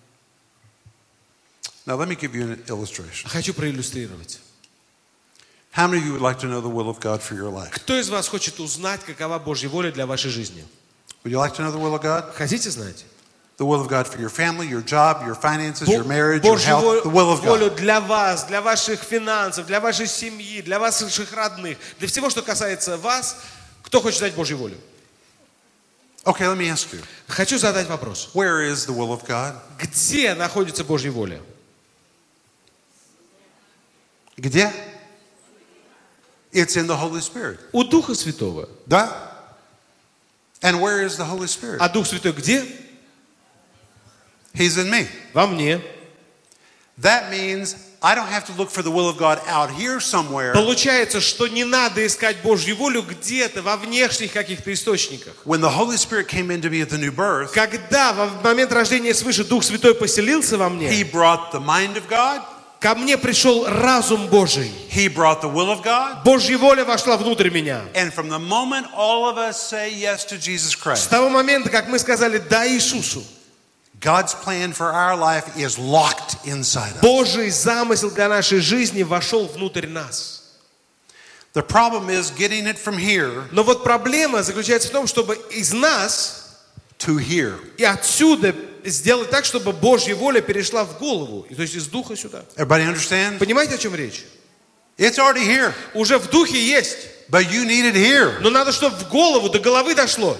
Now let me give you an illustration. Хочу проиллюстрировать. How many of you would like to know the will of God for your life? Кто из вас хочет узнать, какова Божья воля для вашей жизни? Would you like to know the will of God? Хотите знать? The will of God for your family, your job, your finances, your Бо- marriage, your Божью health. The will of волю God. для вас, для ваших финансов, для вашей семьи, для ваших родных, для всего, что касается вас. Кто хочет знать Божью волю? Okay, let me ask you. Хочу задать вопрос. Where is the will of God? Где находится Божья воля? Где? It's in the Holy Spirit. У Духа Святого. Да? And where is the Holy Spirit? А Дух Святой где? He's in me. Во мне. That means I don't have to look for the will of God out here somewhere. Получается, что не надо искать Божью волю где-то, во внешних каких-то источниках. When the Holy Spirit came into me at the new birth, Когда в момент рождения свыше Дух Святой поселился во He мне, brought the mind of God. ко мне пришел разум Божий. He brought the will of God. Божья воля вошла внутрь меня. And from the moment all of us say yes to Jesus С Christ, того момента, как мы сказали «да» Иисусу, God's plan for our life is locked inside us. Божий замысел для нашей жизни вошел внутрь нас. The problem is getting it from here Но вот проблема заключается в том, чтобы из нас to here. и отсюда сделать так, чтобы Божья воля перешла в голову, и то есть из духа сюда. Everybody understand? Понимаете, о чем речь? It's already here, Уже в духе есть, but you need it here. но надо, чтобы в голову, до головы дошло.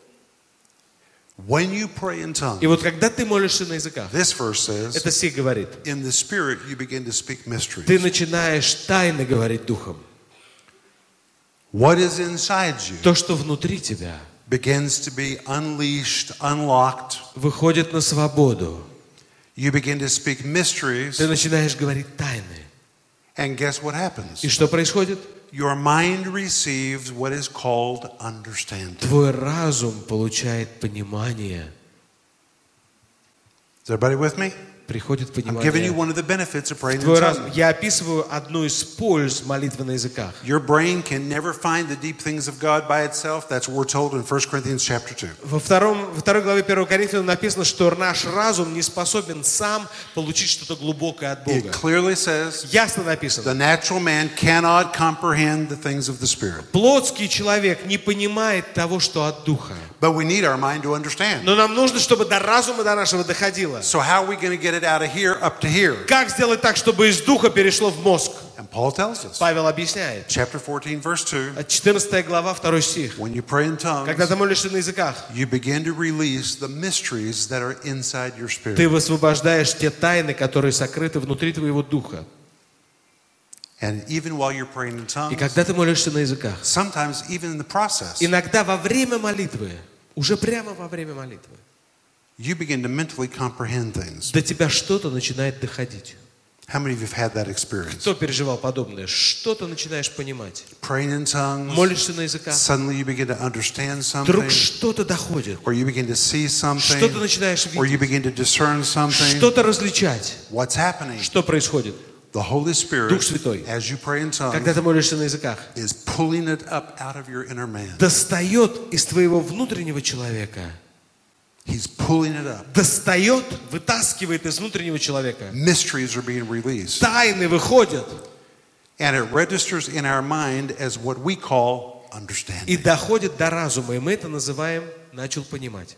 When you pray in И tongues, вот когда ты молишься на языках, this verse says, это стих говорит, in the Spirit you begin to speak ты mysteries. начинаешь тайно говорить духом. What is inside you То, что внутри тебя, begins to be unleashed, unlocked. выходит на свободу. You begin to speak mysteries, Ты начинаешь говорить тайны. and guess what happens? И что происходит? Your mind receives what is called understanding. Твой разум получает понимание. Is everybody with me? Приходит I'm giving you понимание one of the benefits of praying в in твой разум. tongues. Я описываю одну из польз молитвы на языках. Your brain can never find the deep things of God by itself. That's what we're told in First Corinthians chapter two. Во, втором, во второй главе первого Коринфянам написано, что наш разум не способен сам получить что-то глубокое от It Бога. clearly says Ясно the написано. natural man cannot comprehend the things of the Spirit. Плотский человек не понимает того, что от Духа. But we need our mind to understand. Но нам нужно, чтобы до разума до нашего доходило. So how are we going to get it out of here up to here? Как сделать так, чтобы из Духа перешло в мозг? And Paul tells us. Павел объясняет. Chapter fourteen, verse two. четырнадцатая глава, второй стих. When you pray in Когда tongues, ты молишься на языках, you begin to release the mysteries that are inside your ты spirit. высвобождаешь те тайны, которые сокрыты внутри твоего духа. And even while you're praying in И tongues, когда ты молишься на языках, sometimes even in the process, иногда во время молитвы, уже прямо во время молитвы, you begin to mentally comprehend things. до тебя что-то начинает доходить. How many of you have had that experience? Кто переживал подобное? Что-то начинаешь понимать. Praying in tongues, Молишься на языках, suddenly you begin to understand вдруг something, что-то доходит. or you begin to see something, Что-то начинаешь or you видеть. begin to discern something. Что-то различать. What's happening? Что происходит? The Holy Spirit, Дух Святой, as you pray in когда tongues, ты молишься на языках, is pulling it up out of your inner man. достает из твоего внутреннего человека. He's pulling it up. Достает, вытаскивает из внутреннего человека. Mysteries are being released. Тайны выходят. And it registers in our mind as what we call И understanding. доходит до разума. И мы это называем «начал понимать».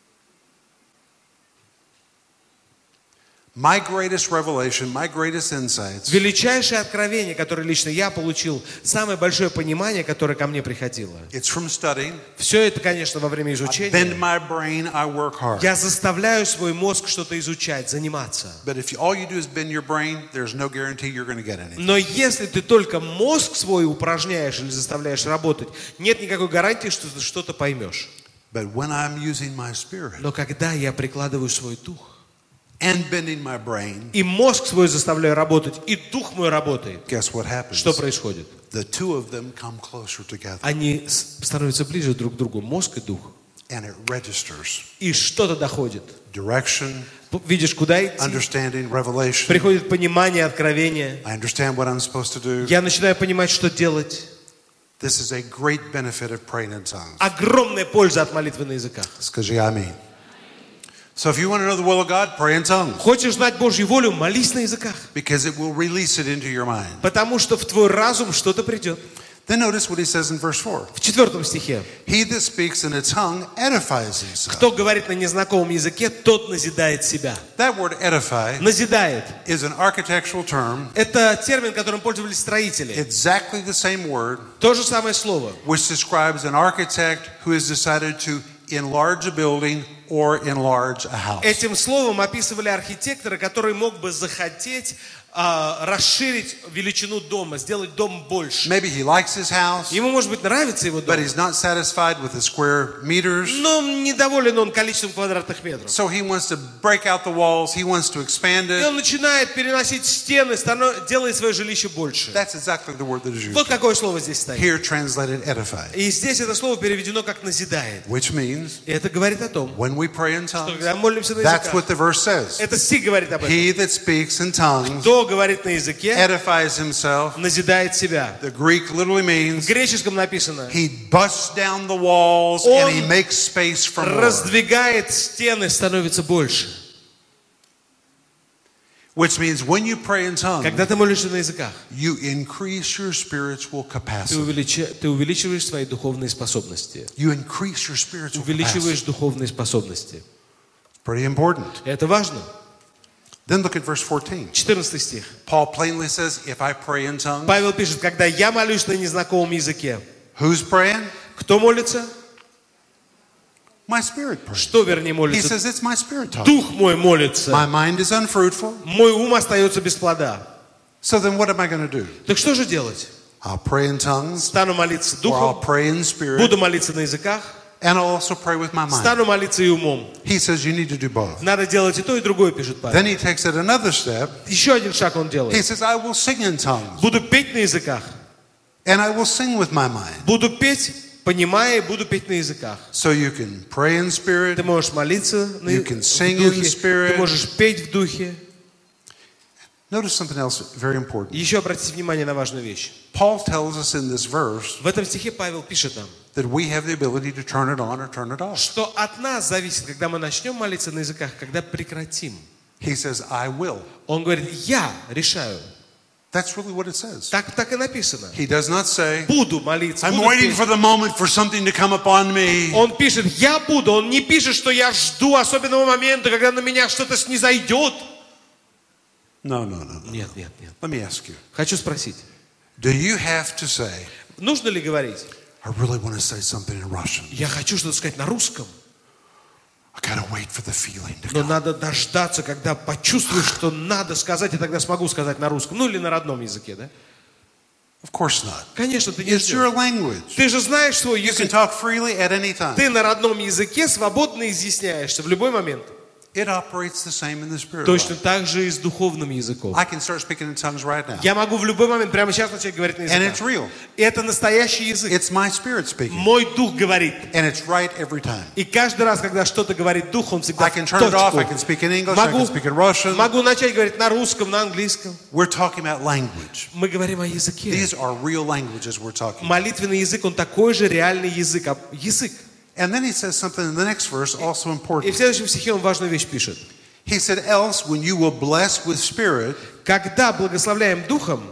My greatest revelation, my greatest insights Величайшее откровение, которое лично я получил, самое большое понимание, которое ко мне приходило. it's from studying. Все это, конечно, во время I bend изучения. my brain, I work hard. Я заставляю свой мозг что-то изучать, заниматься. But if you, all you do is bend your brain, there's no guarantee you're going to get anything. Но если ты только мозг свой упражняешь или заставляешь работать, нет никакой гарантии, что ты что-то поймешь. But when I'm using my spirit Но когда я прикладываю свой дух, and bending my brain, и мозг свой заставляю работать, и дух мой работает, guess what happens? что происходит? The two of them come closer together Они с- становятся ближе друг к другу, мозг и дух. and it registers. И что-то доходит. Direction, П- Видишь, куда идти? understanding, revelation. Приходит понимание, откровение. I understand what I'm supposed to do. Я начинаю понимать, что делать. This is a great benefit of praying in tongues. Огромная польза от молитвы на языках. Скажи аминь. So if you want to know the will of God, pray in tongues Хочешь знать Божью волю, молись на языках. because it will release it into your mind. Потому что в твой разум что-то придет. Then notice what he says in verse four. В четвертом стихе. He that speaks in a tongue edifies himself. Кто говорит на незнакомом языке, тот назидает себя. That word edify Назидает. is an architectural term, Это термин, которым пользовались строители. exactly the same word, То же самое слово. which describes an architect who has decided to enlarge a building or enlarge a house. Этим словом описывали архитектора, который мог бы захотеть а, расширить величину дома, сделать дом больше. Maybe he likes his house, Ему, может быть, нравится его but дом, he's not satisfied with the square meters. но недоволен он количеством квадратных метров. So he wants to break out the walls, he wants to expand И it. он начинает переносить стены, станов- делает свое жилище больше. That's exactly the word that is used. Вот какое слово здесь стоит. Here translated edify, И здесь это слово переведено как «назидает». which means И это говорит о том, when we pray in что tongues, когда мы молимся на that's what языках, the verse says. это стих говорит об этом. He that speaks in tongues Кто говорит на языке, edifies himself. назидает себя. The Greek literally В means греческом написано, he busts down the walls Он and he makes space for more. раздвигает стены, становится больше. Which means when you pray in tongues, Когда ты молишься на языках, you increase your spiritual ты, capacity. увеличи- ты увеличиваешь свои духовные способности. You increase your spiritual capacity. Увеличиваешь духовные способности. Pretty important. Это важно. Then look at verse fourteen. четырнадцатый стих. Paul plainly says, if I pray in tongues, Павел пишет, когда я молюсь на незнакомом языке, who's praying? кто молится? My spirit prays. Что, вернее, He молится? says, it's my spirit talking. Дух мой молится. My mind is unfruitful. Мой ум остается без плода. So then what am I going to do? Так что же делать? I'll pray in tongues, Стану молиться or I'll духом, pray in spirit, буду молиться на языках, and I'll also pray with my mind. стану молиться и умом. He says you need to do both. Надо делать и то, и другое, пишет Павел. Then he takes it another step. Еще один шаг он He делает. says, I will sing in tongues, Буду петь на языках. and I will sing with my mind. Буду петь понимая, и буду петь на языках. So you can pray in spirit. Ты можешь молиться на You can sing в in духе, spirit. ты можешь петь в духе. Notice something else very important. Еще обратите внимание на важную вещь. Paul tells us in this verse В этом стихе Павел пишет нам, that we have the ability to turn it on or turn it off. что от нас зависит, когда мы начнем молиться на языках, когда прекратим. He says, I will. Он говорит, я решаю. That's really what it says. Так, так и написано. He does not say, Буду молиться. I'm буду waiting петь. for the moment for something to come upon me. Он пишет, я буду. Он не пишет, что я жду особенного момента, когда на меня что-то снизойдет. No, no, no, no. Нет, нет, нет. Let me ask you. Хочу спросить. Do you have to say, Нужно ли говорить? I really want to say something in Russian. Я хочу что-то сказать на русском. I gotta wait for the feeling to Но come. надо дождаться, когда почувствуешь, что надо сказать, и тогда смогу сказать на русском. Ну или на родном языке, да? Of course not. Конечно, ты не It's your ждешь. language. Ты же знаешь свой You can язык. talk freely at any time. Ты на родном языке свободно изъясняешься в любой момент. It operates the same in the spirit Точно life. так же и с духовным языком. I can start speaking in tongues right now. Я могу в любой момент, прямо сейчас начать говорить на And it's языках. real. Это настоящий язык. It's my spirit speaking. Мой дух говорит. And it's right every time. И каждый раз, когда что-то говорит дух, он всегда I в can turn it off, I точку. can speak in English, I Могу, can speak in Russian. могу начать говорить на русском, на английском. We're talking about language. Мы говорим о языке. These are real languages we're talking about. Молитвенный язык, он такой же реальный язык. а Язык. And then he says something in the next verse also И important. в следующем стихе он важную вещь пишет. He said, else when you will bless with spirit, Когда благословляем духом,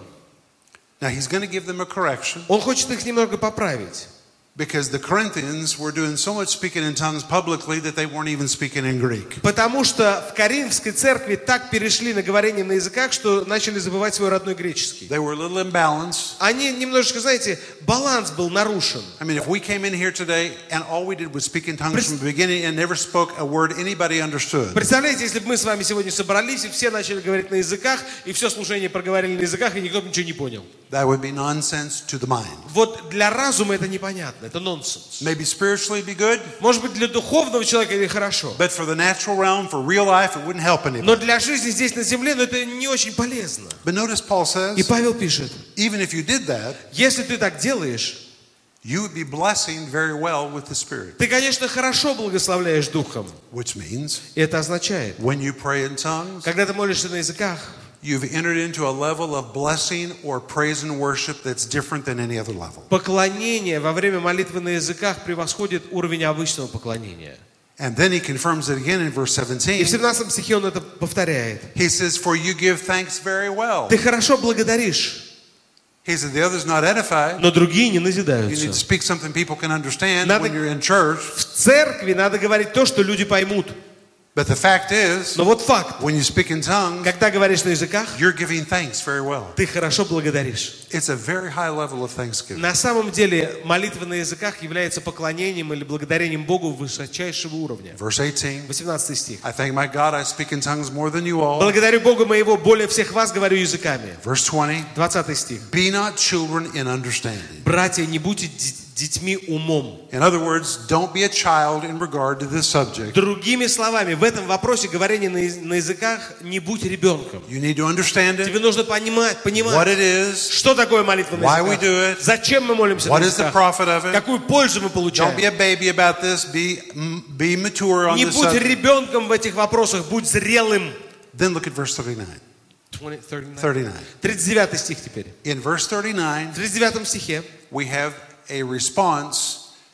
now he's going to give them a correction он хочет их немного поправить. because the Corinthians were doing so much speaking in tongues publicly that they weren't even speaking in Greek. Потому что в Коринфской церкви так перешли на говорение на языках, что начали забывать свой родной греческий. They were a little imbalanced. Они немножечко, знаете, баланс был нарушен. I mean, if we came in here today and all we did was speak in tongues from the beginning and never spoke a word anybody understood, Представляете, если бы мы с вами сегодня собрались, и все начали говорить на языках, и все служение проговорили на языках, и никто бы ничего не понял. that would be nonsense to the mind. Вот для разума это непонятно, это нонсенс. Maybe spiritually be good, Может быть, для духовного человека это хорошо. but for the natural realm, for real life, it wouldn't help anybody. Но для жизни здесь на земле, ну, это не очень полезно. But notice Paul И says, Павел пишет, even if you did that, если ты так делаешь, you would be blessing very well with the Spirit. ты, конечно, хорошо благословляешь духом. Which means, И это означает, when you pray in tongues, когда ты молишься на языках, you've entered into a level of blessing or praise and worship that's different than any other level. поклонение во время молитвы на языках превосходит уровень обычного поклонения. And then he confirms it again in verse И seventeen. в семнадцатом стихе он это повторяет. He says, for you give thanks very well. Ты хорошо благодаришь, He said, the other's not edified. но другие не You need to назидаются. speak something people can understand Надо- when you're in church. В церкви надо говорить то, что люди поймут. But the fact is, Но вот факт. when you speak in tongues, Когда говоришь на языках, you're giving thanks very well. ты хорошо благодаришь. It's a very high level of thanksgiving. На самом деле молитва на языках является поклонением или благодарением Богу высочайшего уровня. Verse eighteen. восемнадцатый стих. I thank my God I speak in tongues more than you all. Благодарю Бога моего, более всех вас говорю языками. Verse twenty. двадцатый стих. Be not children in understanding. Братья, не будьте ди- детьми умом. In other words, don't be a child in regard to this subject. Другими словами, в этом вопросе говорения на, яз- на языках не будь ребенком. You need to understand it, Тебе нужно понимать, what понимать, it is, что такое молитва на why we языках, do it, зачем мы молимся what на is the языках, profit of it. какую пользу мы Don't be получаем. a baby about this. Be, mm, be mature on Не this будь subject. ребенком в этих вопросах, будь зрелым. Then look at verse thirty-nine. двадцать, тридцать девять. thirty-nine. тридцать девятый стих теперь. In verse thirty-nine, В тридцать девятом стихе we have a response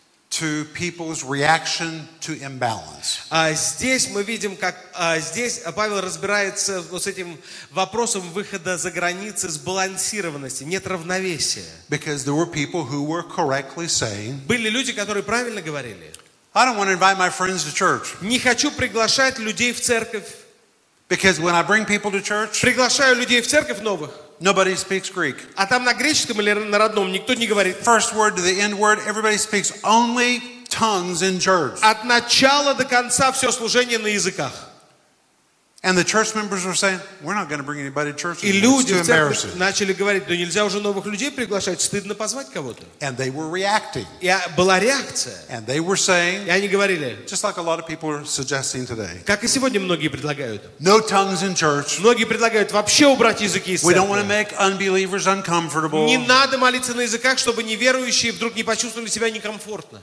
to people's reaction to imbalance. а, здесь мы видим, как а, здесь Павел разбирается вот с этим вопросом выхода за границы сбалансированности, нет равновесия. Because there were people who were correctly saying, Были люди, которые правильно говорили. I don't want to invite my friends to church. Не хочу приглашать людей в церковь. Because when I bring people to church, Приглашаю людей в церковь новых. nobody speaks Greek. А там на греческом или на родном никто не говорит. First word to the end word, everybody speaks only tongues in church. От начала до конца все служение на языках. And the church members were saying, we're not going to bring anybody to church И anymore. It's люди too в церкви embarrassing. начали говорить, ну нельзя уже новых людей приглашать, стыдно позвать кого-то. And they were reacting. И была реакция. And they were saying, И они говорили, just like a lot of people are suggesting today, как и сегодня многие предлагают. no tongues in church. Многие предлагают вообще убрать языки из We don't want to церкви. make unbelievers uncomfortable. Не надо молиться на языках, чтобы неверующие вдруг не почувствовали себя некомфортно.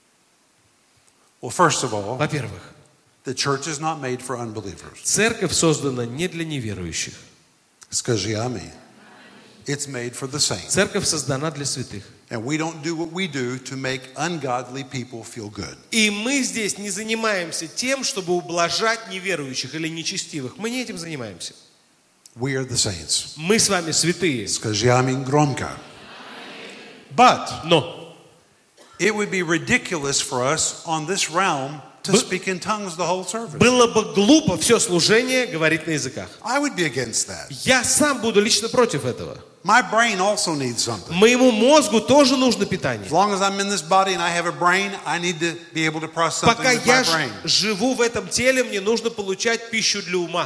Well, first of all, Во-первых, the church is not made for unbelievers. церковь создана не для неверующих. Скажи аминь. It's made for the saints. Церковь создана для святых. And we don't do what we do to make ungodly people feel good. И мы здесь не занимаемся тем, чтобы ублажать неверующих или нечестивых. Мы не этим занимаемся. We are the saints. Мы с вами святые. Скажи аминь громко. But Но it would be ridiculous for us on this realm to Бы- speak in tongues the whole service. было бы глупо все служение говорить на языках. I would be against that. Я сам буду лично против этого. My brain also needs something. Моему мозгу тоже нужно питание. As long as I'm in this body and I have a brain, I need to be able to process something Пока with my я ж- brain. живу в этом теле, мне нужно получать пищу для ума.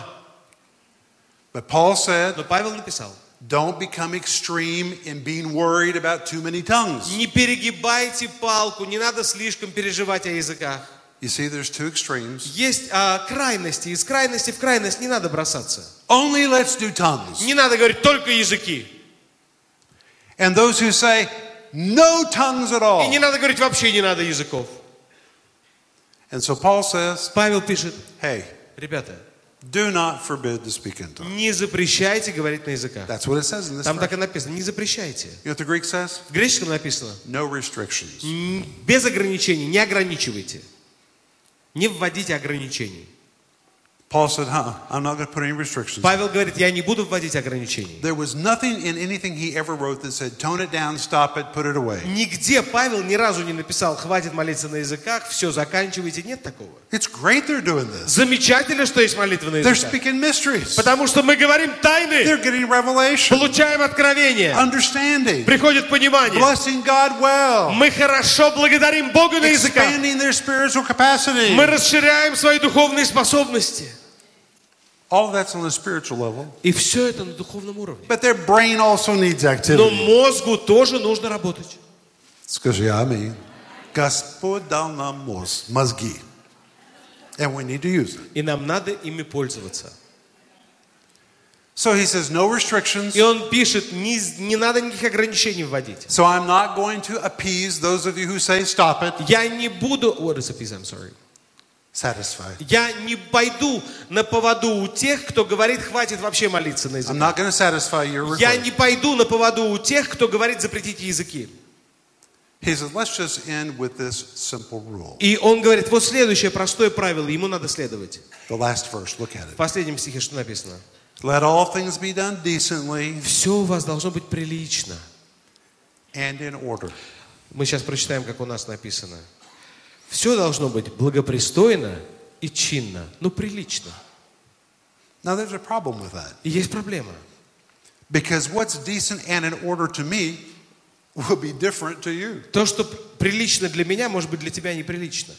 But Paul said, Но Павел написал, don't become extreme in being worried about too many tongues. не перегибайте палку, не надо слишком переживать о языках. You see, there's two extremes. Есть а, крайности, из крайности в крайность не надо бросаться. Only let's do tongues. Не надо говорить только языки. And those who say, no tongues at И all. не надо говорить вообще не надо языков. And so Paul says, Павел пишет, hey, ребята, do not forbid to speak in tongues. не запрещайте говорить на языках. That's what it says in this Там verse. так и написано, не запрещайте. You know what the Greek says? В греческом написано, No restrictions. м, без ограничений, не ограничивайте. Не вводите ограничений. Paul said, huh, I'm not going to put any restrictions. Павел говорит, я не буду вводить ограничений. There was nothing in anything he ever wrote that said, tone it down, stop it, put it away. Нигде Павел ни разу не написал, хватит молиться на языках, все, заканчивайте. Нет такого. It's great they're doing this. Замечательно, что есть молитва на They're языках. speaking mysteries. Потому что мы говорим тайны, They're getting revelation, получаем откровение, understanding, приходит понимание. blessing God well, Мы хорошо благодарим Бога на языках. expanding their spiritual capacity. Мы расширяем свои духовные способности. All of that's on the spiritual level. И все это на духовном уровне. But their brain also needs Но activity. мозгу тоже нужно работать. Скажи аминь. Господь дал нам мозг, мозги. And we need to use it. И нам надо ими пользоваться. So he says, no restrictions. И он пишет, не, не надо никаких ограничений вводить. So I'm not going to appease those of you who say, stop it. Я не буду... What is a piece? I'm sorry. Satisfy. Я не пойду на поводу у тех, кто говорит, хватит вообще молиться на I'm языках. not going to satisfy your Я request. не пойду на поводу у тех, кто говорит, запретите языки. He says, let's just end with this simple rule. И он говорит, вот следующее простое правило, ему надо следовать. The last verse, look at В it. последнем стихе что написано? Let all things be done decently Все у вас должно быть прилично. and in order. Мы сейчас прочитаем, как у нас написано. Все должно быть благопристойно и чинно, ну прилично. Now there's a problem with that. И есть проблема. Because what's decent and in order to me will be different to you. То, что прилично для меня, может быть для тебя неприлично.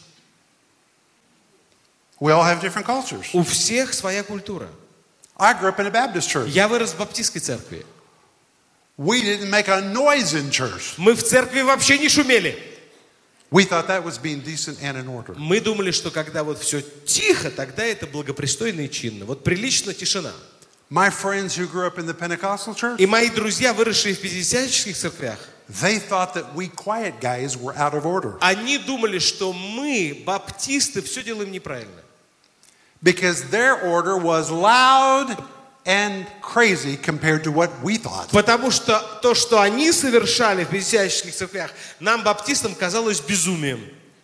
We all have different cultures. У всех своя культура. I grew up in a Baptist church. Я вырос в баптистской церкви. We didn't make a noise in church. Мы в церкви вообще не шумели. We thought that was being decent and in order. Мы думали, что когда вот все тихо, тогда это благопристойно и чинно. Вот прилично тишина. My friends who grew up in the Pentecostal church, И мои друзья, выросшие в пятидесятнических церквях, they thought that we quiet guys were out of order. они думали, что мы, баптисты, все делаем неправильно. Because their order was loud and crazy compared to what we thought. Потому что то, что они совершали в пятидесятнических церквях, нам, баптистам, казалось безумием.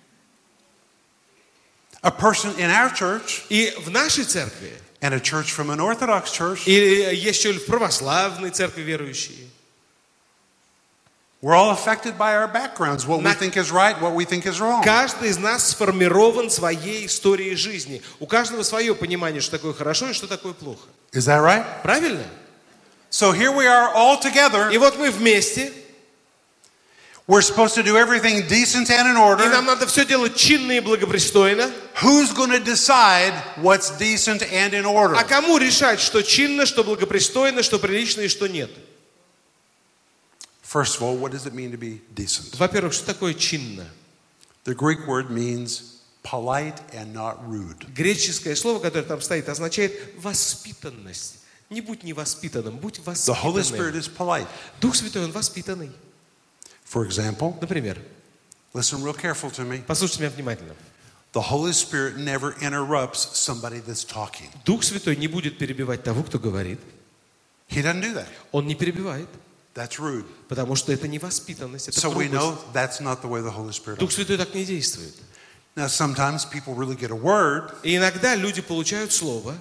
A person in our church И в нашей церкви, and a church from an Orthodox church, и еще в православной церкви верующие, we're all affected by our backgrounds, what we На- think is right, what we think is wrong. каждый из нас сформирован своей историей жизни. У каждого свое понимание, что такое хорошо и что такое плохо. Is that right? Правильно? So here we are all together. И вот мы вместе, We're supposed to do everything decent and in И order. нам надо все делать чинно и благопристойно. Who's going to decide what's decent and in order? А кому решать, что чинно, что благопристойно, что прилично и что нет? First of all, what does it mean to be decent? Во-первых, что такое чинно? The Greek word means polite and not rude. Греческое слово, которое там стоит, означает воспитанность. Не будь невоспитанным, будь The Holy Spirit воспитанным. is polite. Дух Святой, Он воспитанный. For example, Например, listen real careful to me. послушайте меня внимательно. The Holy Spirit never interrupts somebody that's talking. Дух Святой не будет перебивать того, кто говорит. He doesn't do that. Он не перебивает, That's rude. потому что это невоспитанность, это So we грубость. know that's not the way the Holy Spirit Дух operates. Святой так не действует. Now, sometimes people really get a word, И иногда люди получают слово,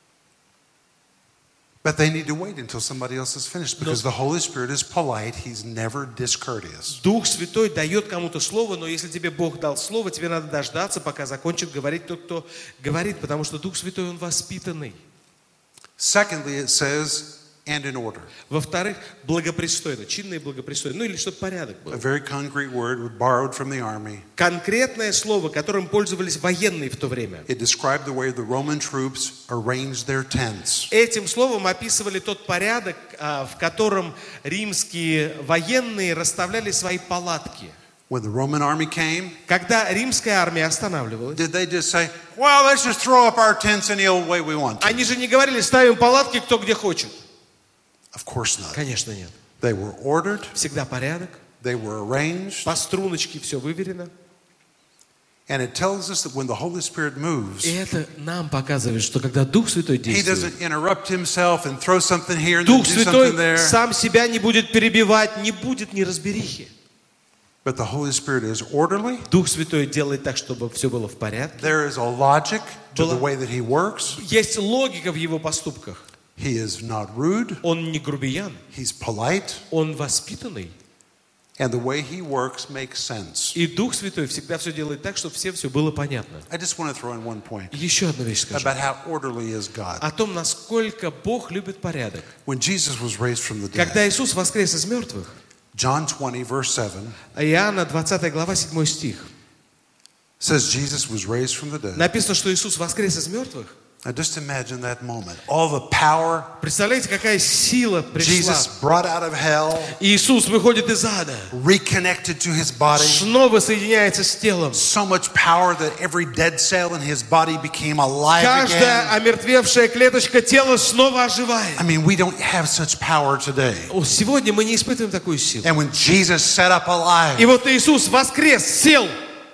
but they need to wait until somebody else is finished because the Holy Spirit is polite. He's never discourteous. Дух Святой дает кому-то слово, но если тебе Бог дал слово, тебе надо дождаться, пока закончит говорить тот, кто говорит, потому что Дух Святой, Он воспитанный. Secondly, it says, and in order. Во-вторых, благопристойно, чинно и благопристойно. Ну или чтобы порядок A был. very concrete word borrowed from the army. Конкретное слово, которым пользовались военные в то время. It described the way the Roman troops arranged their tents. Этим словом описывали тот порядок, а, в котором римские военные расставляли свои палатки. When the Roman army came, Когда римская армия останавливалась, did they just say, well, let's just throw up our tents any old way we want to? они же не говорили, ставим палатки кто где хочет. Of course not. Конечно, нет. They were ordered, Всегда порядок, they were arranged, по струночке все выверено. and it tells us that when the Holy Spirit moves, И это нам показывает, что когда Дух Святой He действует, doesn't interrupt himself and throw something here and then Дух do Святой something there. сам себя не будет перебивать, не будет неразберихи. But the Holy Spirit is orderly. Дух Святой делает так, чтобы все было в порядке. There is a logic to the Было- way that He works. Есть логика в Его поступках. He is not rude. Он не грубиян, He's polite. он воспитанный. And the way He works makes sense. И Дух Святой всегда все делает так, чтобы всем все было понятно. I just want to throw in one point Еще одну вещь скажу. about how orderly is God. О том, насколько Бог любит порядок. When Jesus was raised from the dead, Когда Иисус воскрес из мертвых, John twenty, verse seven, Иоанна двадцатая глава, седьмой стих, says Jesus was raised from the dead. написано, что Иисус воскрес из мертвых. Now just imagine that moment. All the power Представляете, какая сила пришла. Jesus brought out of hell, Иисус выходит из ада, reconnected to His body. снова соединяется с телом. So much power that every dead cell in His body became alive Каждая again. омертвевшая клеточка тела снова оживает. I mean, we don't have such power today. О, сегодня мы не испытываем такую силу. And when Jesus sat up alive, И вот Иисус воскрес, сел.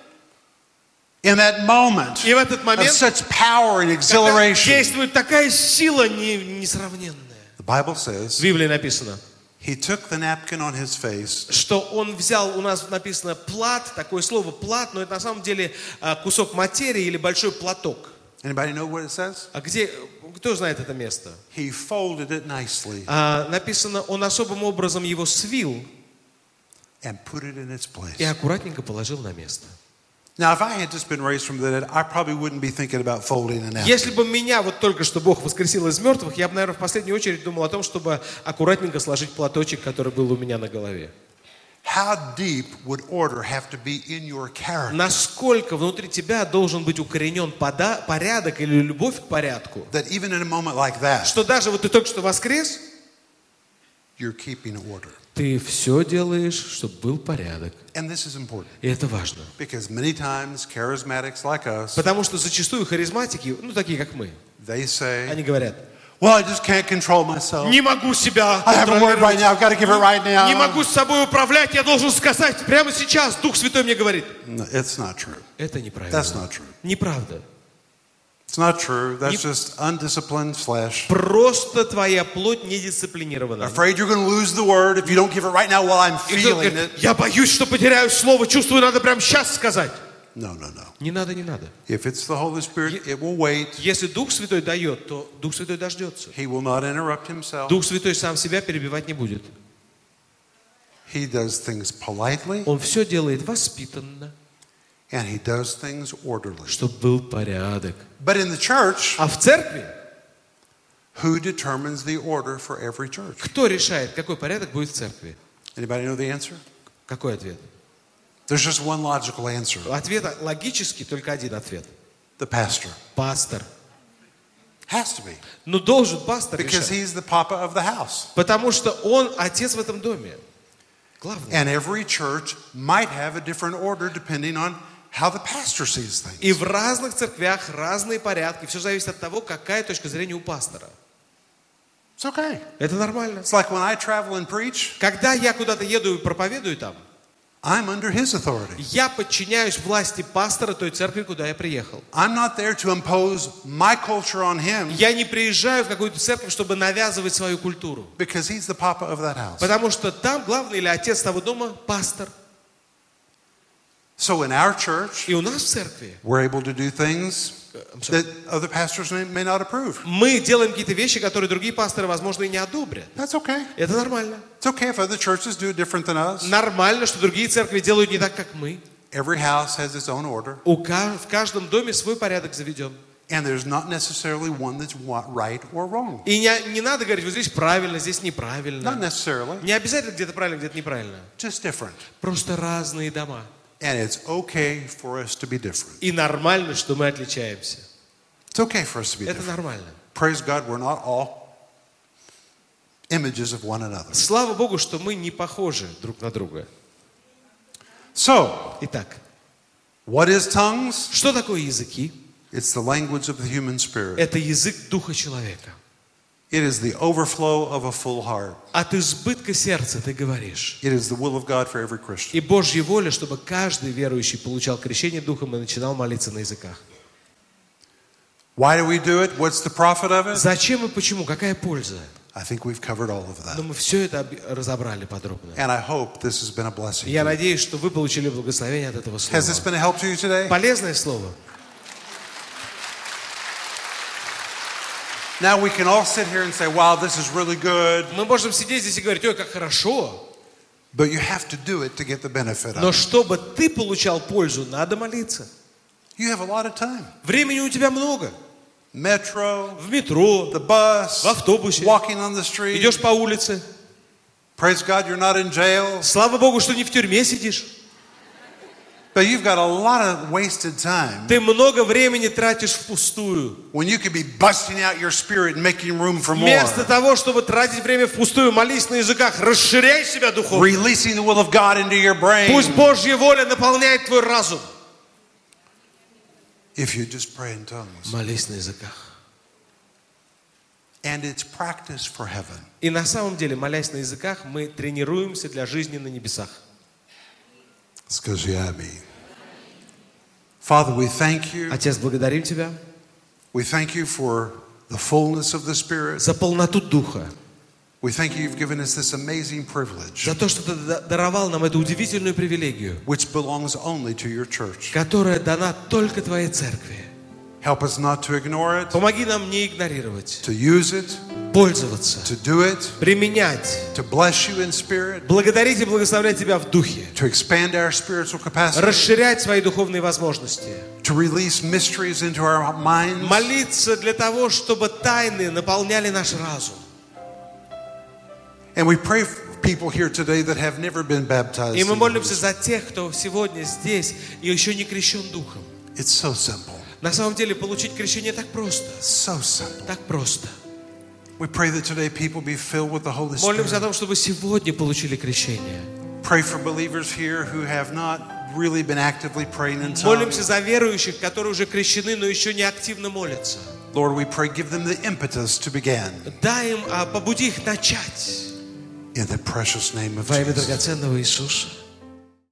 in that moment И в этот of момент such power and когда exhilaration, действует такая сила не- несравненная. the Bible В says, Библии написано, He took the napkin on His face что он взял, у нас написано плат, такое слово плат, но это на самом деле а, кусок материи или большой платок. Anybody know what it says? А где, кто знает это место? He folded it nicely А, написано, он особым образом его свил and put it in its place. и аккуратненько положил на место. Now, if I had just been raised from the dead, I probably wouldn't be thinking about folding a napkin. Если бы меня вот только что Бог воскресил из мертвых, я бы, наверное, в последнюю очередь думал о том, чтобы аккуратненько сложить платочек, который был у меня на голове. How deep would order have to be in your character Насколько внутри тебя должен быть укоренен пода- порядок или любовь к порядку, that even in a moment like that, что даже вот ты только что воскрес, you're keeping order? ты все делаешь, чтобы был порядок. And this is important И это важно. because many times charismatics like us, Потому что зачастую харизматики, ну такие как мы, they say, они говорят, well, I just can't control myself. не могу себя I have a word right контролировать, now. I've got to give it right now. не могу с собой управлять, я должен сказать прямо сейчас. Дух Святой мне говорит. No, it's not true. Это That's неправильно. not true. Неправда. It's not true. That's Не- just undisciplined flesh. Просто твоя плоть недисциплинирована. Afraid you're going to lose the word if you don't give it right now while I'm И кто-то feeling говорит, it. я боюсь, что потеряю слово, чувствую, надо прямо сейчас сказать. No, no, no. Не надо, не надо. If it's the Holy Spirit, it will wait. Если Дух Святой дает, то Дух Святой дождется. He will not interrupt himself. Дух Святой сам себя перебивать не будет. He does things politely Он все делает воспитанно, and he does things orderly. чтобы был порядок. But in the church, А в церкви who determines the order for every church? кто решает, какой порядок будет в церкви? Anybody know the answer? Какой ответ? There's just one logical answer. Ответ логический, только один ответ. The pastor. Пастор. Has to be. Ну, должен пастор Because решать. he's the papa of the house. Потому что он отец в этом доме. Главное. And every church might have a different order depending on how the pastor sees things. И в разных церквях разные порядки. Все зависит от того, какая точка зрения у пастора. It's okay. Это нормально. It's like when I travel and preach, Когда я куда-то еду и проповедую там, I'm under his authority. я подчиняюсь власти пастора той церкви, куда я приехал. I'm not there to impose my culture on him Я не приезжаю в какую-то церковь, чтобы навязывать свою культуру. because he's the papa of that house. Потому что там главный или отец того дома – пастор. So in our church, И у нас в церкви we're able to do things that other pastors may, may not approve. мы делаем какие-то вещи, которые другие пасторы, возможно, и не одобрят. That's okay. Это нормально. It's okay if other churches do it different than us. Нормально, что другие церкви делают не так, как мы. Every house has its own order, У ка- в каждом доме свой порядок заведен. and there's not necessarily one that's wa- right or wrong. И не, не надо говорить, вот здесь правильно, здесь Not неправильно. necessarily, Не обязательно где-то правильно, где-то неправильно. just different. Просто разные дома. And it's okay for us to be different. И нормально, что мы отличаемся. It's okay for us to be Это different. нормально. Praise God, we're not all images of one another. Слава Богу, что мы не похожи друг на друга. So, Итак, what is tongues? что такое языки? It's the language of the human spirit. Это язык духа человека. It is the overflow of a full heart. От избытка сердца ты говоришь. It is the will of God for every Christian. И Божья воля, чтобы каждый верующий получал крещение Духом и начинал молиться на языках. Why do we do it? What's the profit of it? Зачем и почему? Какая польза? I think we've covered all of Но that. мы все это об- разобрали подробно. And I hope this has been a blessing. Я to you. надеюсь, что вы получили благословение от этого Has this слова. been a help to you today? Полезное слово. Now we can all sit here and say, wow, this is really good. Мы можем сидеть здесь и говорить, ой, как хорошо. But you have to do it to get the benefit Но of it. чтобы ты получал пользу, надо молиться. You have a lot of time. Времени у тебя много. Metro, В метро, the bus, в автобусе, walking on the street. идешь по улице. Praise God, you're not in jail. Слава Богу, что не в тюрьме сидишь. But you've got a lot of wasted time Ты много времени тратишь впустую. when you could be busting out your spirit and making room for more. Вместо того, чтобы тратить время впустую, молись на языках, расширяй себя духовно. Releasing the will of God into your brain. Пусть Божья воля наполняет твой разум. If you just pray in tongues. Молись на языках. And it's practice for heaven. И на самом деле, молясь на языках, мы тренируемся для жизни на небесах. Скажи аминь. Father, we thank you. Отец, благодарим Тебя We thank you for the fullness of the Spirit. за полноту Духа, We thank you you've given us this amazing privilege, за то, что Ты да- даровал нам эту удивительную привилегию, which belongs only to your church. которая дана только Твоей церкви. Help us not to ignore it, Помоги нам не игнорировать, to use it, пользоваться, to do it, применять, to bless you in spirit, благодарить и благословлять Тебя в Духе, to expand our spiritual capacity, расширять свои духовные возможности, to release mysteries into our minds, молиться для того, чтобы тайны наполняли наш разум. and we pray for people here today that have never been baptized. И мы in the молимся Holy за тех, кто сегодня здесь и еще не крещен Духом. Spirit. It's so simple, На самом деле получить крещение так просто, so simple. так просто. We pray that today people be filled with the Holy Молимся о Spirit. том, чтобы сегодня получили крещение. Pray for believers here who have not really been actively praying in Молимся tongues. за верующих, которые уже крещены, но еще не активно молятся. Lord, we pray, give them the impetus to begin. Дай им, а, побуди их начать. In the precious name of Во имя Jesus. драгоценного Иисуса.